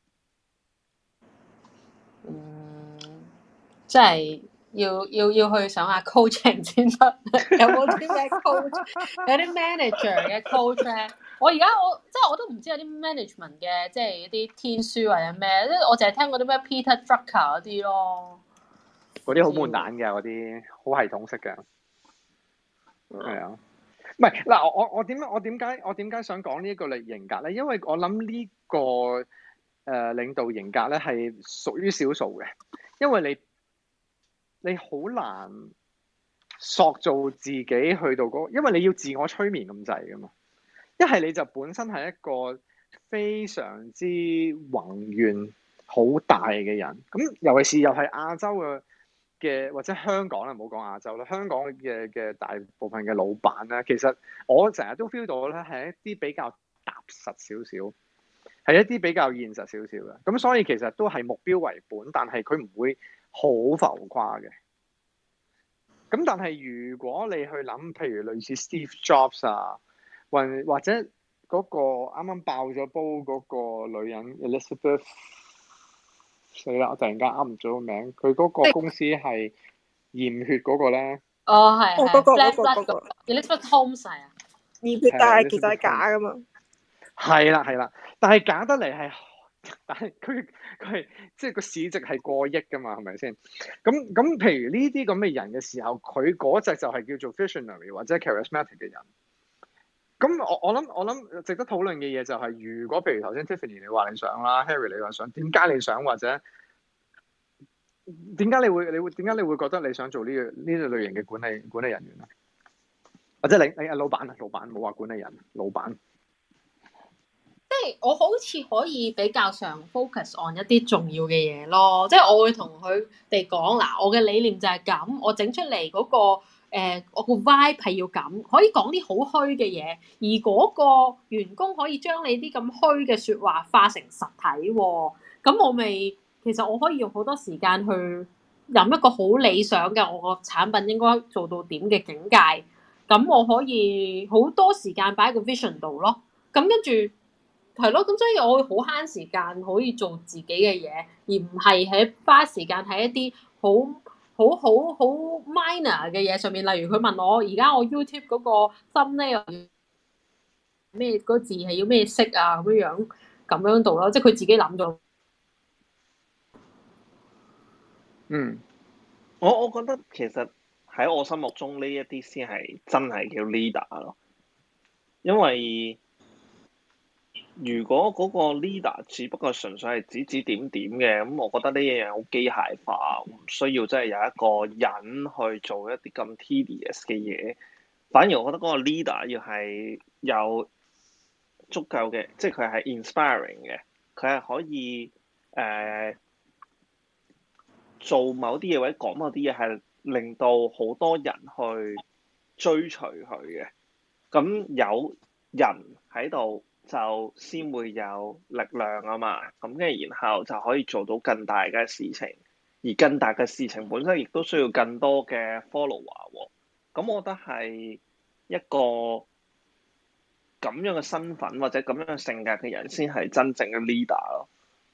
即係要去上下 coaching 先得。有冇啲咩 coach？ 有啲 manager 嘅 coach 咧？我都唔知有啲 management 嘅，即係一啲天書或者咩？即係我淨係聽過啲咩 Peter Drucker 嗰啲咯。
嗰啲好悶蛋嘅，嗰啲好系統式嘅。係啊。唔係嗱，我點解想講呢一個型格咧？因為我諗呢個領導型格咧係屬於少數嘅，因為你好難塑造自己去到因為你要自我催眠咁滯噶嘛。一係你就本身係一個非常之宏願好大嘅人，咁尤其是又係亞洲嘅或者香港啦，唔好講亞洲啦，香港嘅大部分嘅老闆咧，其實我成日都 feel 到咧係一啲比較踏實少少，係一啲比較現實少少嘅，咁所以其實都係目標為本，但係佢唔會好浮誇嘅。咁但係如果你去諗，譬如類似 Steve Jobs 啊，或者嗰個啱啱爆咗煲嗰個女人 Elizabeth。死啦！我突然間啱唔咗個名，佢嗰個公司係驗血嗰個咧。
哦，係。
嗰個
Elizabeth Holmes 係啊。
驗血但係其實係假噶嘛。
係啦，但係假得嚟係，但係佢係即係個市值係過億噶嘛，係咪先？咁譬如呢啲咁嘅人嘅時候，佢嗰隻就係叫做 visionary 或者 charismatic 嘅人。咁我諗值得討論嘅嘢就係，如果譬如頭先 Tiffany 你話你想啦，Harry 你話想，點解你想，或者點解你會覺得你想做呢類型嘅管理人員啊？或者你老闆冇話管理人，老闆。
即係我好似可以比較上 focus on 一啲重要嘅嘢咯，即係我會同佢哋講嗱，我嘅理念就係咁，我整出嚟嗰個。我個 vibe 係要咁，可以講啲好虛嘅嘢，而嗰個員工可以將你啲咁虛嘅説話化成實體喎。咁其實我可以用好多時間去諗一個好理想嘅我個產品應該做到點嘅境界。咁我可以好多時間擺喺個 vision 度咯。咁跟住係咯，咁所以我會好慳時間可以做自己嘅嘢，而唔係花時間喺一啲好 minor 嘅嘢上面，例如佢問我而家我 YouTube 嗰個 thumbnail 咩嗰個字係要咩色啊咁樣度咯，即係佢自己諗咗。
嗯，
我覺得其實喺我心目中呢一啲先係真係叫 leader 咯，因為如果嗰個 leader 只不過純粹係指指點點嘅，咁我覺得呢一樣好機械化，唔需要真係有一個人去做一啲咁 tedious 嘅嘢。反而我覺得嗰個 leader 要係有足夠嘅，即係佢係 inspiring 嘅，佢係可以做某啲嘢或者講某啲嘢係令到好多人去追隨佢嘅。咁有人喺度就先會有力量啊嘛，咁跟住然後就可以做到更大嘅事情，而更大嘅事情本身亦都需要更多嘅 follower 喎。咁我覺得係一個咁樣嘅身份或者咁樣嘅性格嘅人先係真正嘅 leader 咯。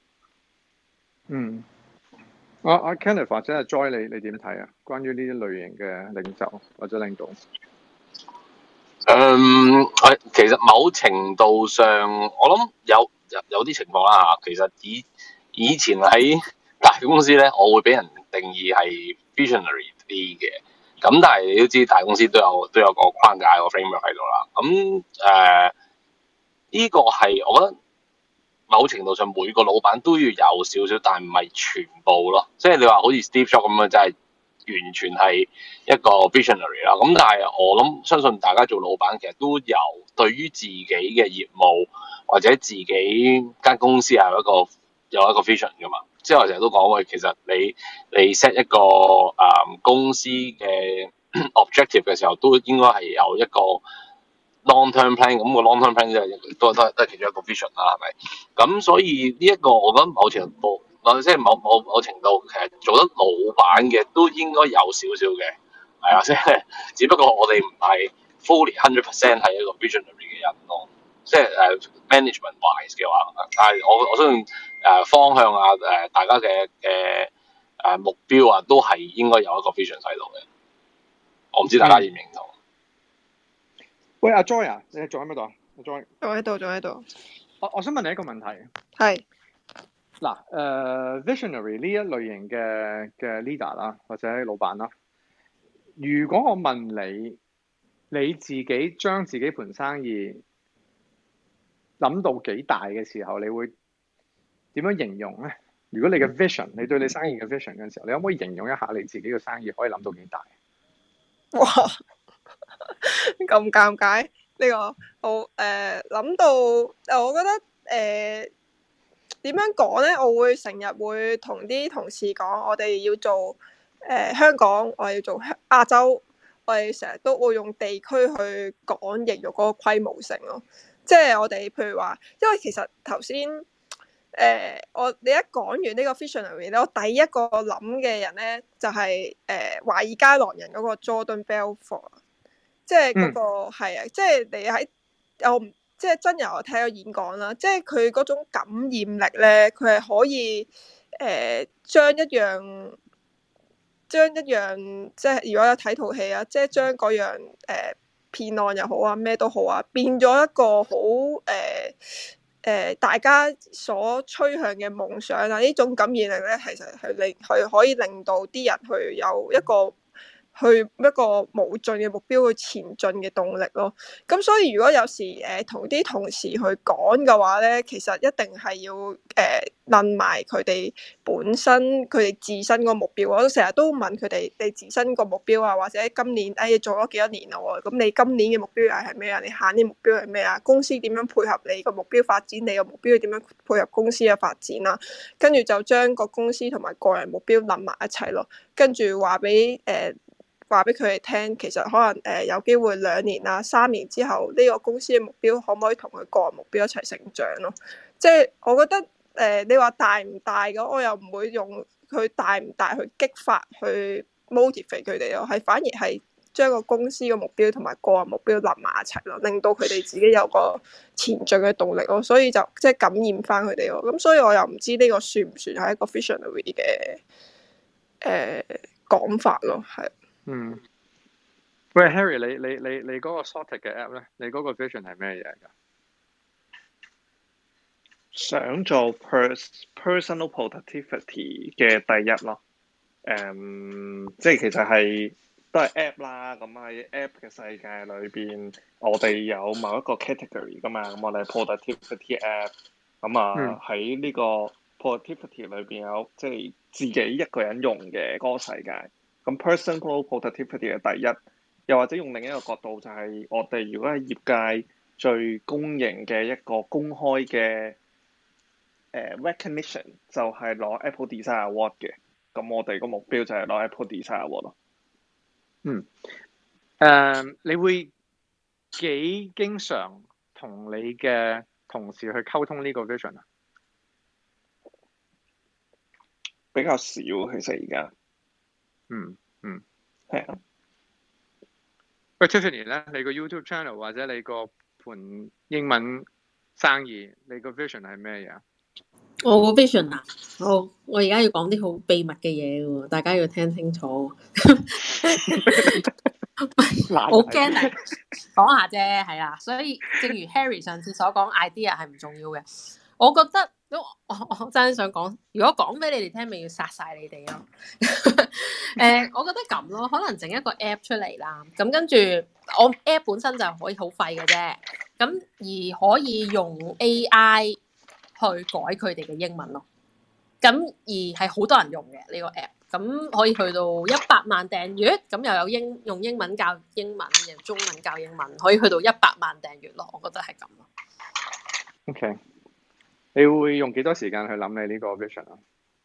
嗯。阿 Kenneth 或者係 Joy，你點睇啊？關於呢啲類型嘅領袖或者領導？
其實某程度上，我諗有啲情況啦嚇。其實以前喺大公司咧，我會俾人定義係 visionary 啲嘅。咁但係你都知，大公司都有個框架個 framework 喺度啦。咁呢個係我覺得某程度上每個老闆都要有少少，但唔係全部咯。即係你話好似 Steve Jobs 咁樣，真係完全係一個 visionary 啦。咁但係我相信大家做老闆其實都有對於自己嘅業務或者自己間公司係有一個 vision 噶嘛。即係我成日都講喂，其實你 set 一個公司嘅 objective 嘅時候，都應該係有一個 long-term plan。咁個 long-term plan 都係其中一個 vision 啦，係咪？咁所以呢一個我覺得某程度，即係某程度其實做得老闆嘅都應該有少少嘅，係啊，即係只不過我哋唔係 fully 100% 係一個 visionary 嘅人咯，即係management wise 嘅話，但係我相信方向啊大家嘅目標啊都係應該有一個 vision 喺度嘅。我唔知大家認唔認同？
喂，阿 Joy 啊，你仲喺邊度啊？阿 Joy，
仲喺度。
我想問你一個問題。
係。
嗱，visionary 呢一類型嘅 leader 啦，或者老闆啦，如果我問你自己將自己盤生意諗到幾大嘅時候，你會點樣形容咧？如果你嘅 vision，你對你生意嘅 vision 嘅時候，你可唔可以形容一下你自己嘅生意可以諗到幾大？
哇！咁尷尬呢個好諗到我覺得點樣講咧？我會成日會同啲同事講，我哋要做香港，我哋要做亞洲，我哋成日都會用地區去講形容嗰個規模性咯。即係我哋譬如話，因為其實頭先你一講完呢個 visionary 咧，我第一個諗嘅人咧就係華爾街狼人嗰個 Jordan Belfort， 即係嗰個係啊，即係你喺即係真人我睇過演講啦，即係佢嗰種感染力咧，佢係可以將一樣即係如果有睇套戲啊，即係將嗰樣騙案又好啊，咩都好啊，變咗一個好大家所趨向嘅夢想啊！呢種感染力咧，其實係可以令到啲人去有一個無盡嘅目標去前進嘅動力咯。咁所以如果有時同啲同事去講嘅話咧，其實一定係要問埋佢哋本身佢哋自身個目標。我成日都問佢哋你自身個目標啊，或者今年做咗幾多年咯？咁你今年嘅目標又係咩啊？你下年目標係咩啊？公司點樣配合你個目標發展？你個目標點樣配合公司嘅發展啊？跟住就將個公司同埋個人目標諗埋一齊咯，跟住話俾佢哋聽，其實可能有機會2年啊3年之後，呢個公司嘅目標可唔可以同佢個人目標一齊成長咯？即係我覺得你話大唔大嘅，我又唔會用佢大唔大去激發去 motivate 佢哋咯，係反而係將個公司嘅目標同埋個人目標諗埋一齊咯，令到佢哋自己有個前進嘅動力咯，所以就即係感染翻佢哋咯。咁所以我又唔知呢個算唔算係一個 visionary 嘅講法咯，係。
喂 Harry， 你嗰個 Sorted 嘅 app 咧，你嗰個 vision 係咩嘢㗎？
想做 personal productivity 嘅第一咯。 即係其實係都係 app 啦。咁喺 app 嘅世界裏邊，我哋有某一個 category 噶嘛。咁我哋 productivity app。咁喺呢個 productivity 裏邊有即係自己一個人用嘅嗰個世界。咁 personal productivity 嘅第一，又或者用另一個角度就係我哋如果喺業界最公認嘅一個公開嘅recognition 就係攞 Apple Design Award 嘅。咁我哋個目標就係攞 Apple Design Award 咯。
你會幾經常同你嘅同事去溝通呢個 vision 啊？
比較少，其實而家。係啊。
喂 Tiffany 咧，你個 YouTube channel 或者你個盤英文生意，你個 vision 係咩嘢啊？
我個 vision 啊，我而家要講啲好秘密嘅嘢喎，大家要聽清楚。好驚啊！講下啫，係啦。所以正如 Harry 上次所講，idea 係唔重要嘅。我覺得我真係想講，如果講俾你哋聽，咪要殺晒你哋咯。我覺得咁咯，可能整一個 app 出嚟啦。咁跟住我 app 本身就可以好廢嘅啫。咁而可以用 AI 去改佢哋嘅英文咯。咁而係好多人用嘅呢個 app。咁可以去到100萬訂閱，咁又有用英文教英文，用中文教英文，可以去到100萬訂閱咯。我覺得係咁咯。
OK， 你會用幾多時間去諗你呢個 vision 啊？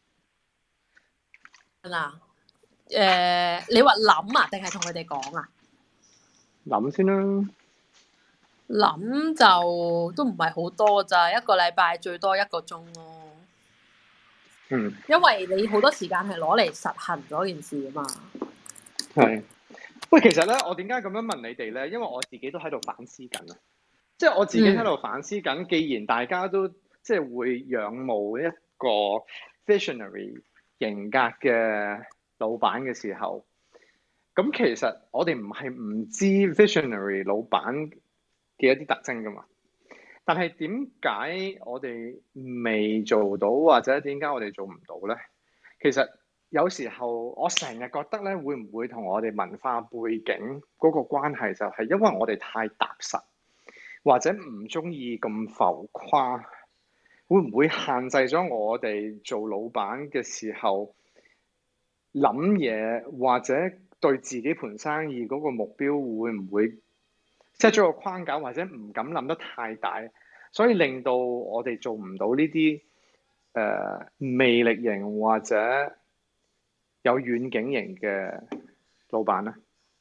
你話諗啊，定係同佢哋講啊？
諗先啦。
諗就都唔係好多咋，一個禮拜最多1個鐘咯。因為你好多時間係攞嚟實行嗰件事啊嘛。
係。喂，其實咧，我點解咁樣問你哋咧？因為我自己都喺度反思緊啊。即係我自己喺度反思緊，既然大家都即係會仰慕一個 visionary 型格嘅老闆嘅時候，咁其實我哋唔係唔知 visionary 老闆嘅一啲特徵噶嘛。但係點解我哋未做到，或者點解我哋做唔到咧？其實有時候我成日覺得咧，會唔會同我哋文化背景嗰個關係就係因為我哋太踏實，或者唔中意咁浮誇，會唔會限制咗我哋做老闆嘅時候諗嘢，或者對自己盤生意嗰個目標會唔會set咗個框架，或者唔敢諗得太大，所以令到我哋做唔到呢啲魅力型或者有遠景型嘅老闆咧？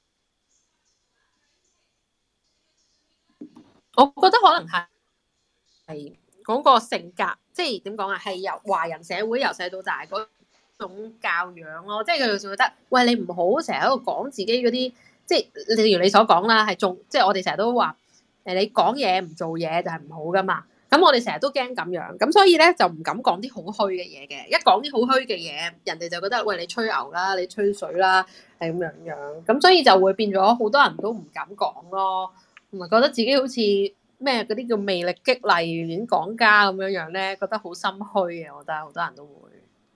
我覺得可能係嗰個性格，即係點講啊？係由華人社會由細到大嗰種教養咯，即係佢哋就覺得，喂，你唔好成日喺度講自己嗰啲，即係例如你所講啦，係即係我哋成日都話，你講嘢唔做嘢就係唔好噶嘛。咁我哋成日都驚咁樣，咁所以咧就唔敢講啲好虛嘅嘢嘅。一講啲好虛嘅嘢，人哋就覺得，喂，你吹牛啦，你吹水啦，係咁樣。咁所以就會變咗好多人都唔敢講咯。同埋覺得自己好似咩嗰啲叫魅力激勵演講家咁樣咧，覺得好心虛嘅。我覺得好多人都會。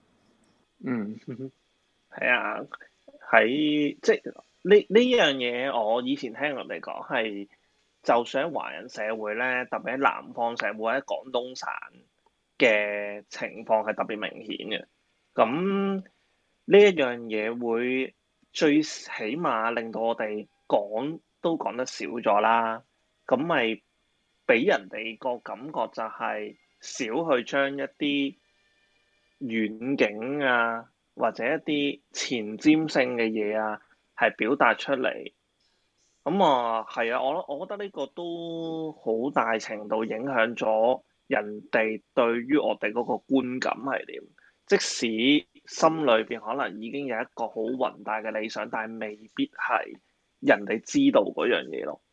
係啊，喺即係呢樣嘢，我以前聽人哋講係，就算喺華人社會咧，特別喺南方社會喺廣東省嘅情況係特別明顯嘅。咁呢一樣嘢會最起碼令到我哋都講得少咗啦，咁咪俾人哋個感覺就係少去將一啲遠景啊，或者一啲前瞻性嘅嘢啊，係表達出嚟。咁係啊，我覺得呢個都好大程度影響咗人哋對於我哋嗰個觀感係點。即使心裏邊可能已經有一個好宏大嘅理想，但係未必係人哋知道嗰樣嘢咯。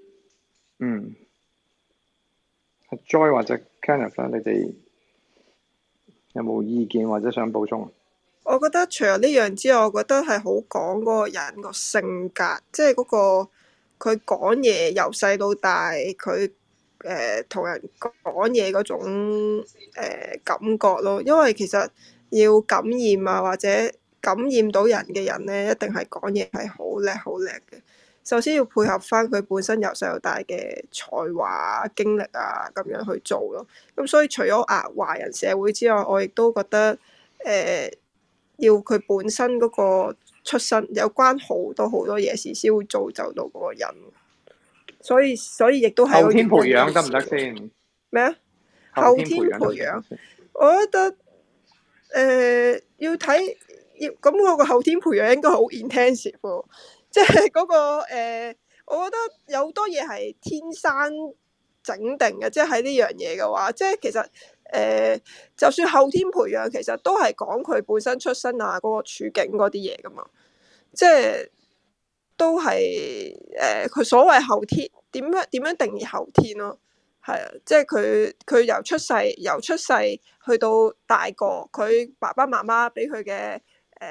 Joy 或者 Kenneth 你哋有冇意見或者想補充？
我覺得除咗呢樣之外，我覺得係好講嗰個人個性格，即係嗰個佢講嘢由細到大，佢同人講嘢嗰種感覺咯。因為其實要感染啊，或者感染到人嘅人咧，一定係講嘢係好叻好叻嘅。首先要配合翻佢本身由細到大嘅才華經歷啊，咁樣去做咯。咁所以除咗華人社會之外，我亦都覺得要佢本身嗰個出身有關好多嘢事先會造就到嗰個人。所以亦都係
後天培養得唔得先？
咩啊？後天培養，我覺得要睇咁嗰個後天培養應該好 intensive 喎，即係嗰個我覺得有好多嘢係天生整定嘅，即係喺呢樣嘢嘅話，即係其實就算後天培養，其實都係講佢本身出身啊，嗰個處境嗰啲嘢噶嘛，即係都係佢所謂後天點樣定義後天咯？係啊，即係佢由出世去到大個，佢爸爸媽媽俾佢嘅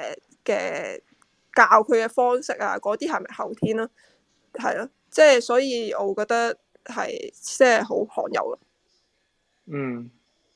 教佢嘅方式啊，嗰啲係咪後天咯？係咯，即係所以我覺得係即係好罕有咯。
嗯，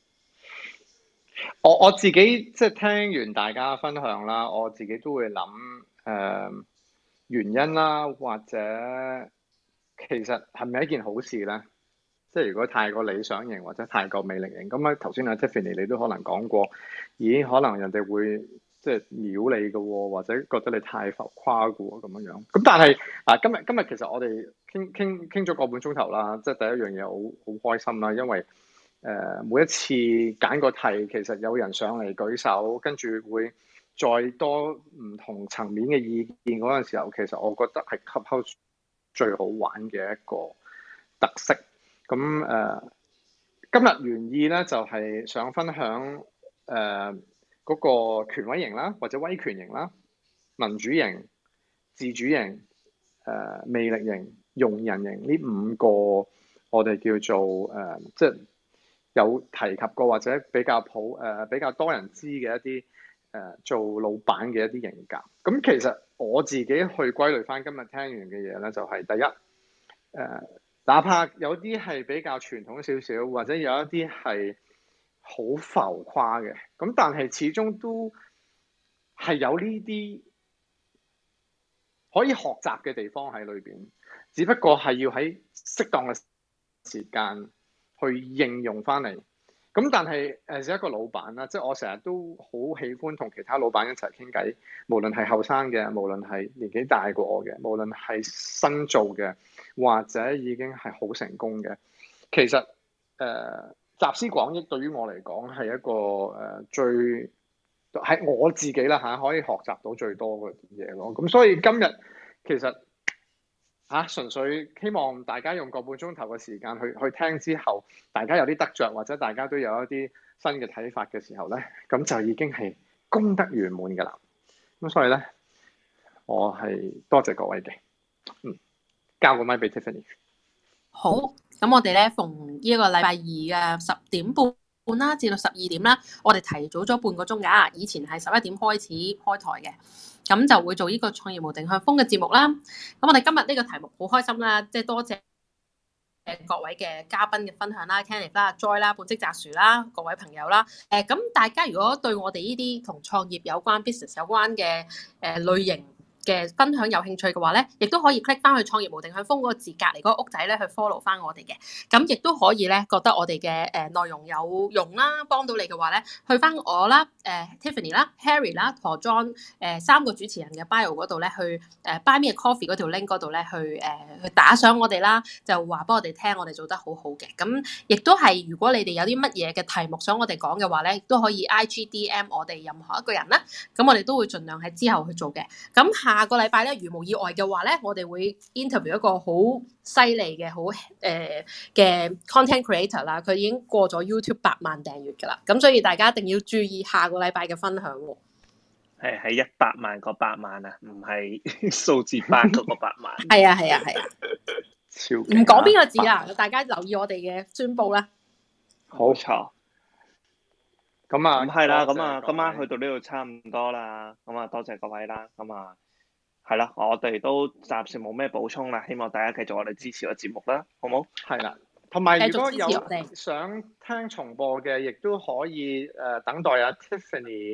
我自己即係聽完大家分享啦，我自己都會諗原因啦，或者其實係咪一件好事咧？即係如果太過理想型或者太過魅力型，咁啊頭先阿 Tiffany 你都可能講過，咦可能人哋會即係秒你嘅喎，或者覺得你太浮誇嘅喎咁樣樣。咁但係今日其實我哋傾咗個半鐘頭啦，即係第一樣嘢好開心啦，因為每一次揀個題，其實有人上嚟舉手，跟住會再多唔同層面嘅意見嗰陣時候，其實我覺得係 Clubhouse 最好玩嘅一個特色。咁今日原意咧就係想分享嗰個權威型啦，或者威權型啦、民主型、自主型、魅力型、容人型呢5個我哋叫做即係有提及過或者比較多人知嘅一啲做老闆嘅一啲型格。咁其實我自己去歸類翻今日聽完嘅嘢咧，就係第一哪怕有啲係比較傳統少少，或者有一啲係好浮誇嘅，咁但係始終都係有呢啲可以學習嘅地方喺裏邊，只不過係要喺適當嘅時間去應用翻嚟。咁但係作為一個老闆啦，即係我成日都好喜歡同其他老闆一齊傾偈，無論係後生嘅，無論係年紀大過我嘅，無論係新做嘅，或者已經係好成功嘅。其實集思廣益對於我嚟講係一個最係我自己啦嚇，可以學習到最多嘅嘢咯。咁所以今日其實純粹希望大家用個半鐘頭嘅時間去聽之後，大家有啲得着，或者大家都有一啲新嘅睇法嘅時候咧，咁就已經係功德圓滿㗎啦。咁所以咧，我係多謝各位嘅。交個咪俾 Tiffany。
好，咁我哋咧逢呢個禮拜二嘅10點半啦，至到12點啦，我哋提早咗半個鐘㗎。以前係11點開始開台嘅。咁就會做呢個創業無定向瘋嘅節目啦。咁我哋今日呢個題目好開心啦，即係多謝各位嘅嘉賓嘅分享啦 Kenneth 啦、Joy 啦、本職摘樹啦，各位朋友啦。咁大家如果對我哋呢啲同創業有關、business 有關嘅類型嘅分享有興趣嘅話咧，亦都可以 click 翻去創業無定向瘋嗰個字隔離嗰個屋仔咧去 follow 翻我哋嘅。咁亦都可以咧覺得我哋嘅內容有用啦，幫到你嘅話咧，去翻我啦、Tiffany 啦、Harry 啦同 John 3個主持人嘅 bio 嗰度咧，去Buy Me a Coffee 嗰條 link 嗰度咧去打賞我哋啦，就話俾我哋聽我哋做得好好嘅。咁亦都係如果你哋有啲乜嘢嘅題目想我哋講嘅話咧，亦都可以 IGDM 我哋任何一個人啦。咁我哋都會盡量喺之後去做嘅。咁下個禮拜咧，如無意外嘅話咧，我哋會 interview 一個好犀利嘅好嘅 content creator 啦，佢已經過咗 YouTube 8萬訂閱㗎啦，咁所以大家一定要注意下個禮拜嘅分享喎。
係100萬個8萬啊，唔係數字8嗰個8萬。
係啊，
超
唔講邊個字啦，大家留意我哋嘅宣佈啦。
冇錯。咁係啦，咁啊，今晚去到呢度差唔多啦。咁啊，多謝各位啦。咁啊，係啦，我哋都暫時冇咩補充啦。希望大家繼續我哋支持個節目啦，好冇？
係啦，同埋如果有想聽重播嘅，亦都可以等待阿 Tiffany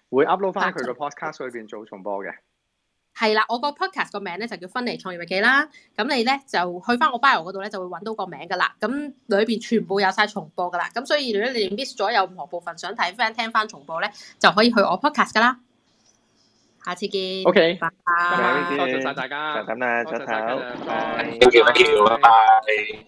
會 upload 翻佢個 podcast 裏邊做重播嘅。
係啦，我個 podcast 個名咧就叫芬尼創業日記啦。咁你咧就去翻我 bio 嗰度咧就會揾到個名噶啦。咁裏邊全部有晒重播噶啦。咁所以如果你 miss 咗有任何部分想睇翻聽翻重播咧，就可以去我 podcast 噶啦。下次見。
OK，
拜拜。
多謝晒大家。
就咁啦，早唞，拜拜。
Thank you，拜拜。